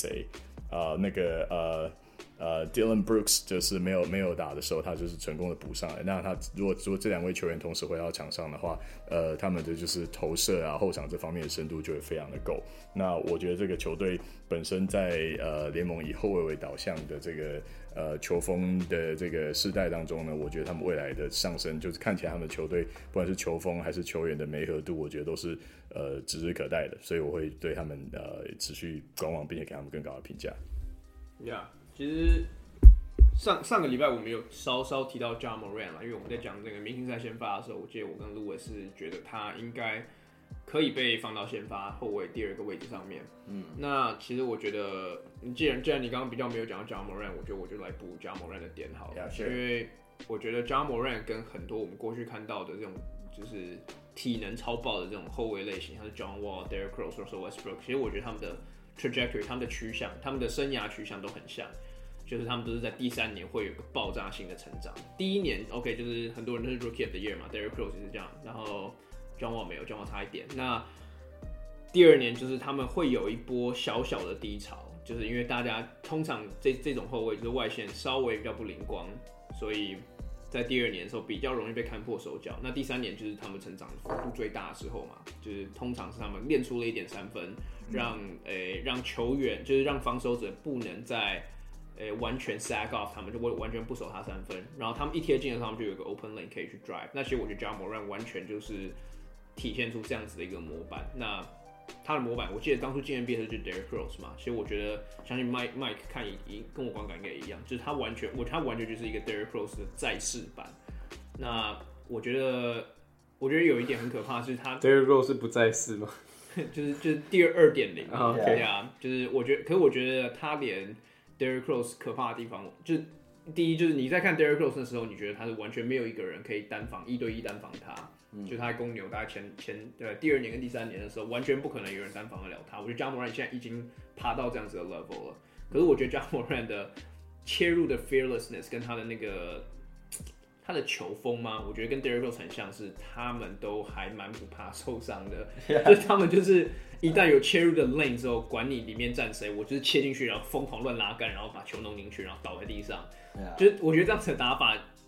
Dylan Brooks 就是沒有打的時候，他就是成功的補上來。那他如果這兩位球員同時回到場上的話，他們的就是投射啊、后場這方面的深度就會非常的夠。那我覺得這個球隊本身在聯盟以後衛為導向的這個球風的這個世代當中呢，我覺得他們未來的上升，就是看起來他們的球隊不管是球風還是球員的媒合度，我覺得都是指日可待的。所以我會對他們持續觀望，並且給他們更高的評價。 Yeah.其實上個禮拜我們有稍稍提到 Ja Morant 啦，因為我們在講這個明星賽先發的時候，我記得我跟 Louis 是覺得他應該可以被放到先發後衛第2個位置上面。那其實我覺得，既然你剛剛比較沒有講到 Ja Morant，我覺得我就來補 Ja Morant 的點好了， sure. 因為我覺得 Ja Morant 跟很多我們過去看到的這種就是體能超爆的這種後衛類型，像是 John Wall、Derrick Rose、Russell Westbrook， 其實我覺得他們的 trajectory、他們的趋向、他们的生涯趋向都很像，就是他们都是在第3年会有一個爆炸性的成長。第1年 OK， 就是很多人都是 Rookie of the Year 嘛 ，Derrick Rose 也是這樣，然後 John Wall 沒有 ，John Wall 差一點。那第2年就是他們會有一波小小的低潮，就是因為大家通常這種後衛就是外線稍微比較不靈光，所以在第2年的時候比較容易被看破手腳。那第3年就是他們成長幅度最大的時候嘛，就是通常是他們練出了一點3分，讓球員就是讓防守者不能再完全 sack off 他們，就完全不守他3分，然後他們一貼近的時候，他們就有一個 open lane 可以去 drive。那其實我覺得 Ja Morant 完全就是體現出這樣子的一個模板。那他的模板，我記得當初進 NBA 的就是 Derrick Rose 嘛，其實我覺得相信 Mike 看跟我觀感應該也一樣，就是他完全就是一個 Derrick Rose 的再世版。那我覺得有一點很可怕的是他 Derrick Rose 是不再世嗎？ 就是第2.0， 對啊，就是我覺得他連 Derrick Rose 可怕的地方，就是第一就是你在看 Derrick Rose 的時候，你覺得他是完全沒有一個人可以1對1單防他，就他在公牛大概對第2年跟第3年的時候，完全不可能有人單防得了他。我覺得 Ja Morant 現在已經爬到這樣子的 level 了，可是我覺得 Ja Morant 的切入的 fearlessness 跟他的那個他的球風嘛，我覺得跟 Derrick Rose 很像，是他們都還蠻不怕受傷的，就是他們就是一旦有切入的 lane 之後，管你裡面站誰，我就是切進去，然後瘋狂亂拉桿，然後把球弄進去，然後倒在地上。就是我覺得這樣子的打法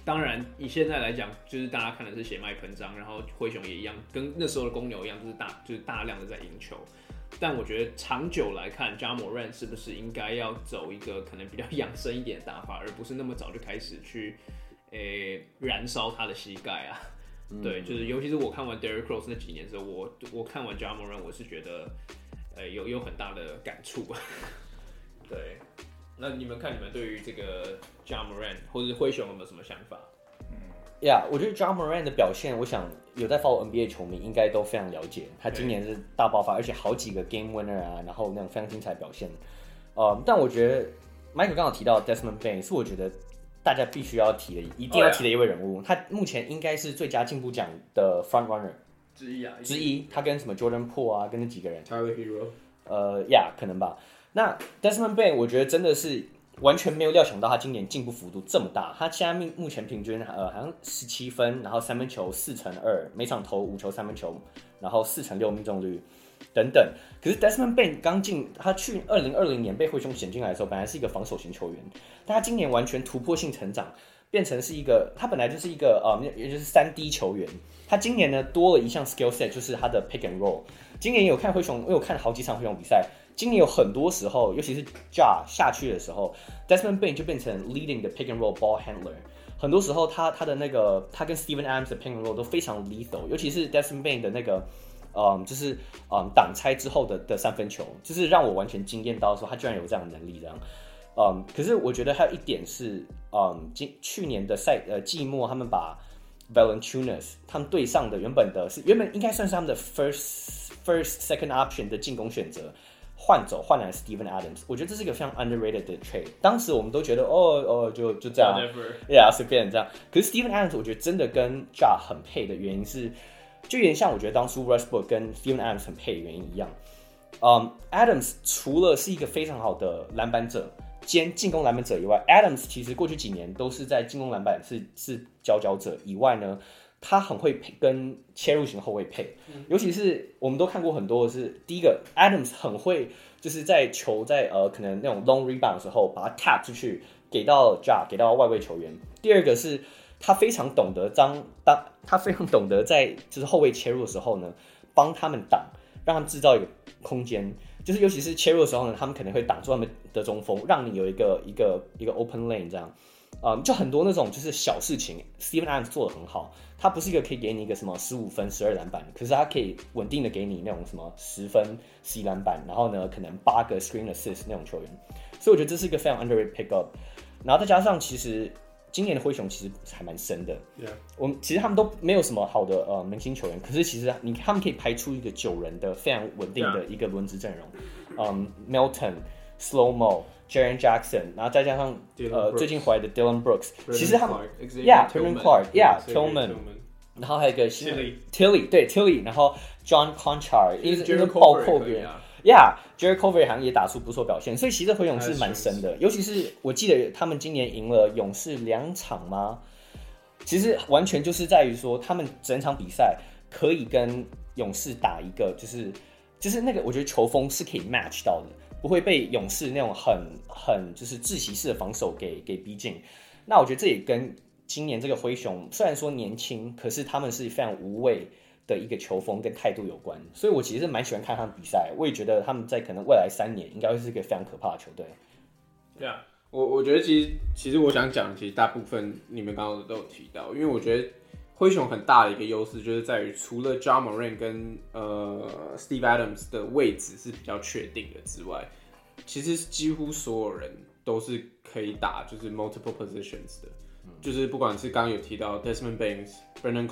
當然以現在來講，就是大家看的是血脈噴張，然後灰熊也一樣，跟那時候的公牛一樣，就是大量的在贏球。但我覺得長久來看 Ja Morant 是不是應該要走一個可能比較養生一點的打法，而不是那麼早就開始去燃燒他的膝蓋啊？對，就是尤其是我看完 Derrick Rose 那幾年之后，我看完 Ja Morant 我是覺得有很大的感觸。對，那你們對於這個 Ja Morant 或者是灰熊有沒有什麼想法？ 我覺得 Ja Morant 的表現，我想有在 follow NBA 球迷应該都非常了解。他今年是大爆發，而且好幾個 game winner 啊，然後那種非常精彩的表現。但我覺得 Michael 剛好提到 Desmond Bane 是我覺得大家必須要提的，一定要提的一位人物。他目前應該是最佳進步獎的 front runner 之一。他跟什麼 Jordan Poole 啊，跟那幾個人 Tyler Hero， 可能吧。那 Desmond Bane 我觉得真的是完全没有料想到他今年进步幅度這麼大。他现在目前平均好像17分，然後三分球4/2，每場投5球三分球，然後4/6命中率等等。可是 Desmond Bane 刚进，他去2020年被灰熊选进來的时候，本來是一個防守型球員，但他今年完全突破性成長，变成是一個他本來就是一個也就是3D 球員。他今年呢多了一項 skill set， 就是他的 pick and roll。今年有看灰熊，我有看好幾場灰熊比賽。今年有很多時候，尤其是 Ja 下去的時候 ，Desmond Bane 就变成 leading 的 pick and roll ball handler。很多时候他的那個他跟 Steven Adams 的 pick and roll 都非常 lethal， 尤其是 Desmond Bane 的那個就是擋拆之後的三分球，就是讓我完全驚豔到說他居然有這樣的能力這樣。可是我覺得還有一點是，去年的季末他們把 Valanciunas 他們隊上的原本應該算是他們的 first second option 的進攻選擇。換來 Steven Adams， 我覺得這是一個非常 underrated 的 trade。當時我們都覺得就這樣，隨便這樣。可是 Steven Adams 我覺得真的跟 Ja 很配的原因是，就有點像我覺得當初 Westbrook 跟 Steven Adams 很配的原因一樣。Adams 除了是一個非常好的籃板者兼進攻籃板者以外 ，Adams 其實過去幾年都是在進攻籃板是佼佼者以外呢。他很會跟切入型後衛配，尤其是我們都看過很多的是，第一個 Adams 很會就是在球在可能那種 long rebound 的時候把它 tap 出去給到 Ja 給到外圍球員。第二個是他非常懂得他非常懂得在就是後衛切入的時候呢，幫他們擋，讓他們制造一個空間，就是尤其是切入的時候呢，他們可能會擋住他們的中鋒，讓你有一個 open lane 這樣。就很多那種就是小事情 ，Steven Adams 做得很好。他不是一個可以給你一個什麼15分、12籃板，可是他可以穩定的給你那種什麼10分、11籃板，然後呢，可能8個 screen assist 那種球員。所以我覺得這是一個非常 underrated pickup。然後再加上，其實今年的灰熊其實還蠻深的。其實他們都沒有什麼好的明星球員，可是其實他們可以排出一個9人的非常穩定的一個輪值陣容。Melton、Slow-Mo。Jaren Jackson， 然後再加上最近回來的 Dylan Brooks， 其實他們 Tillman Clark，Tillman， 然後還有一個 Tilly， 對 Tilly， 然後 John Conchar， 一個爆破员 ，Jared Culver 好像也打出不錯表現，所以其實灰熊是蠻深的，尤其是我記得他們今年贏了勇士2場嗎？其實完全就是在於說他們整場比賽可以跟勇士打一個，就是那個我覺得球風是可以 match 到的。不會被勇士那種很就是窒息式的防守給逼近。那我覺得這也跟今年這個灰熊雖然說年輕，可是他們是非常無畏的一個球風跟態度有關。所以我其實蠻喜歡看他們比賽，我也覺得他們在可能未來3年應該會是一個非常可怕的球隊。 對啊，我覺得其實我想講，其實大部分你們剛剛都有提到，因為我覺得灰熊很大的一個優勢就是在於，除了 Ja Morant 跟Steve Adams 的位置是比較確定的之外，其實幾乎所有人都是可以打就是 multiple positions 的，就是不管是剛剛有提到 Desmond Bane、Brandon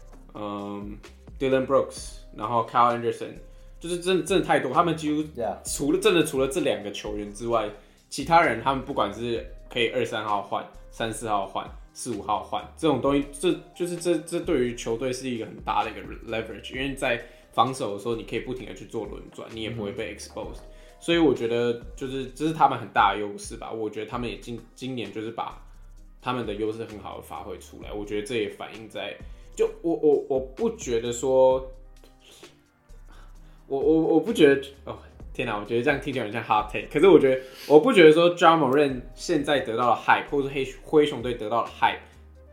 Clark、Dylan Brooks， 然後 Kyle Anderson， 就是真的太多，他們幾乎除了這2個球員之外，其他人他們不管是可以23號換、34號換。4、5號換這種東西，這對於球隊是一個很大的一個 leverage， 因為在防守的時候，你可以不停的去做輪轉，你也不會被 exposed，所以我覺得就是這是他們很大的優勢吧。我覺得他們也今年就是把他們的優勢很好的發揮出來，我覺得這也反映在就我不覺得說，我不覺得哦。天哪，我覺得這樣聽起來很像 hot take， 可是我不覺得說 Ja Morant 現在得到的 hype， 或者是灰熊隊得到的 hype，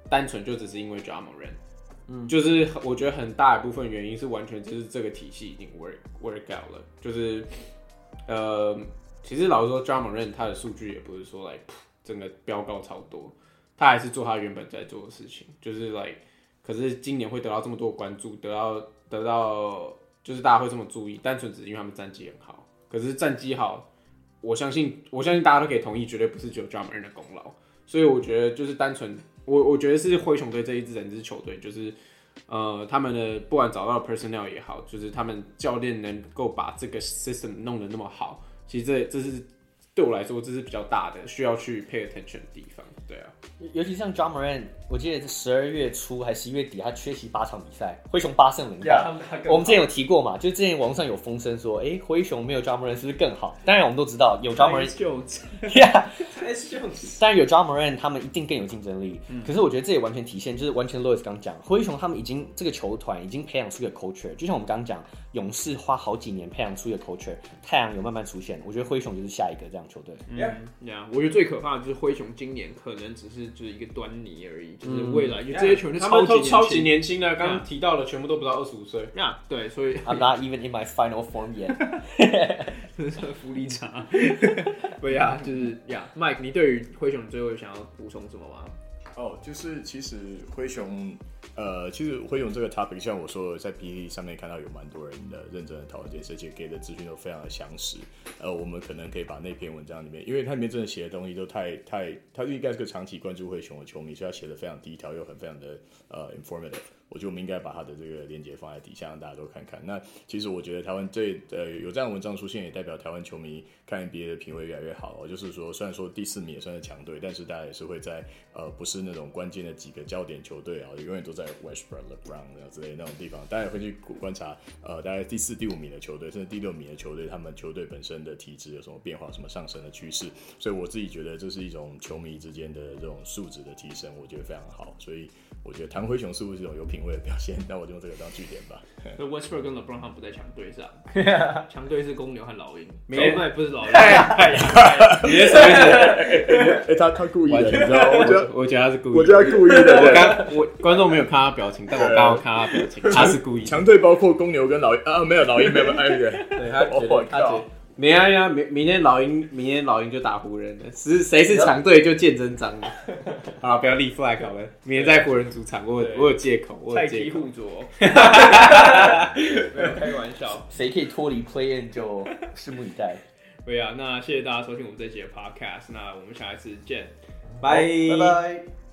單純就只是因為 Ja Morant，就是我覺得很大一部分原因是完全就是這個體系已經 work out 了，就是其實老實說 Ja Morant 他的數據也不是說整個飆高超多，他還是做他原本在做的事情，就是可是今年會得到這麼多關注，得到就是大家會這麼注意，單純只是因為他們戰績很好。可是戰績好，我相信大家都可以同意，絕對不是只有 Ja Morant的功勞。所以我覺得就是单純，我覺得是灰熊队這一支球隊，就是他們的不管找到 personnel 也好，就是他們教練能夠把這個 system 弄得那麼好，其實這是對我來說這是比较大的需要去 pay attention 的地方。对啊， 尤其像 Ja Morant， 我記得12月初還11月底，他缺席8場比賽，灰熊8勝0敗。我們之前有提過嘛，就之前網上有風聲說，灰熊沒有 Ja Morant 是不是更好？當然我們都知道有 Ja Morant， 當然有 Ja Morant， 他們一定更有競爭力。可是我覺得這也完全體現，就是完全 Louis 剛講，灰熊他們已經這個球团已經培養出一個 culture， 就像我們剛剛講，勇士花好幾年培養出一個 culture， 太陽有慢慢出現，我覺得灰熊就是下一個這樣球隊。 我覺得最可怕的就是灰熊今年可能只是就是一個端倪而已，就是未來，因為這些球员都超级年輕的，刚刚提到的全部都不到25歲。 对，所以 I'm not even in my final form yet 。 真是福利差。对呀，就是Mike， 你对於灰熊最後想要補充什麼嗎？ 就是其實灰熊這個 topic， 像我說的，在 PTT 上面看到有蠻多人的認真的討論這些，而且給的資訊都非常的詳實。我們可能可以把那篇文章裡面，因為它裡面真的寫的東西都他應該是個長期關注灰熊的球迷，所以他寫的非常低調又非常的informative。我覺得我們應該把他的這個連結放在底下，讓大家都看看。那其實我覺得台灣有這樣的文章出現，也代表台灣球迷看 NBA 的品味越來越好。就是說，雖然說第4名也算是強隊，但是大家也是會在不是那種關鍵的幾個焦點球隊啊，永遠都在 Westbrook、LeBron 之類的那種地方，大家也會去觀察大概第4、第5名的球隊，甚至第6名的球隊，他們球队本身的體質有什麼變化，什麼上升的趨勢。所以我自己覺得這是一種球迷之間的這種素質的提升，我覺得非常好。所以我覺得唐灰熊似乎是一種有品味的表现，那我就用这个当句点吧。 所以 Westbrook 跟 LeBron 他們不在強隊上，強隊是公牛和老鷹，不是老鷹。 你是什麼意思？ 他故意的，你知道嗎？ 我覺得他是故意的。 我覺得他故意的。 觀眾沒有看他表情，但我剛剛看他表情，他是故意的。 強隊包括公牛跟老鷹沒有老鷹，沒有對，他覺得。沒啊，明天老鷹就打湖人了，誰是強隊就見真章了。好，不要立 flag 好了，明天在湖人主場，我有借口， 菜雞互啄，沒有開玩笑， 誰可以脫離 play in 就拭目以待。 對啊，那謝謝大家收聽我們這集的 podcast，那我們下一次見， 拜拜。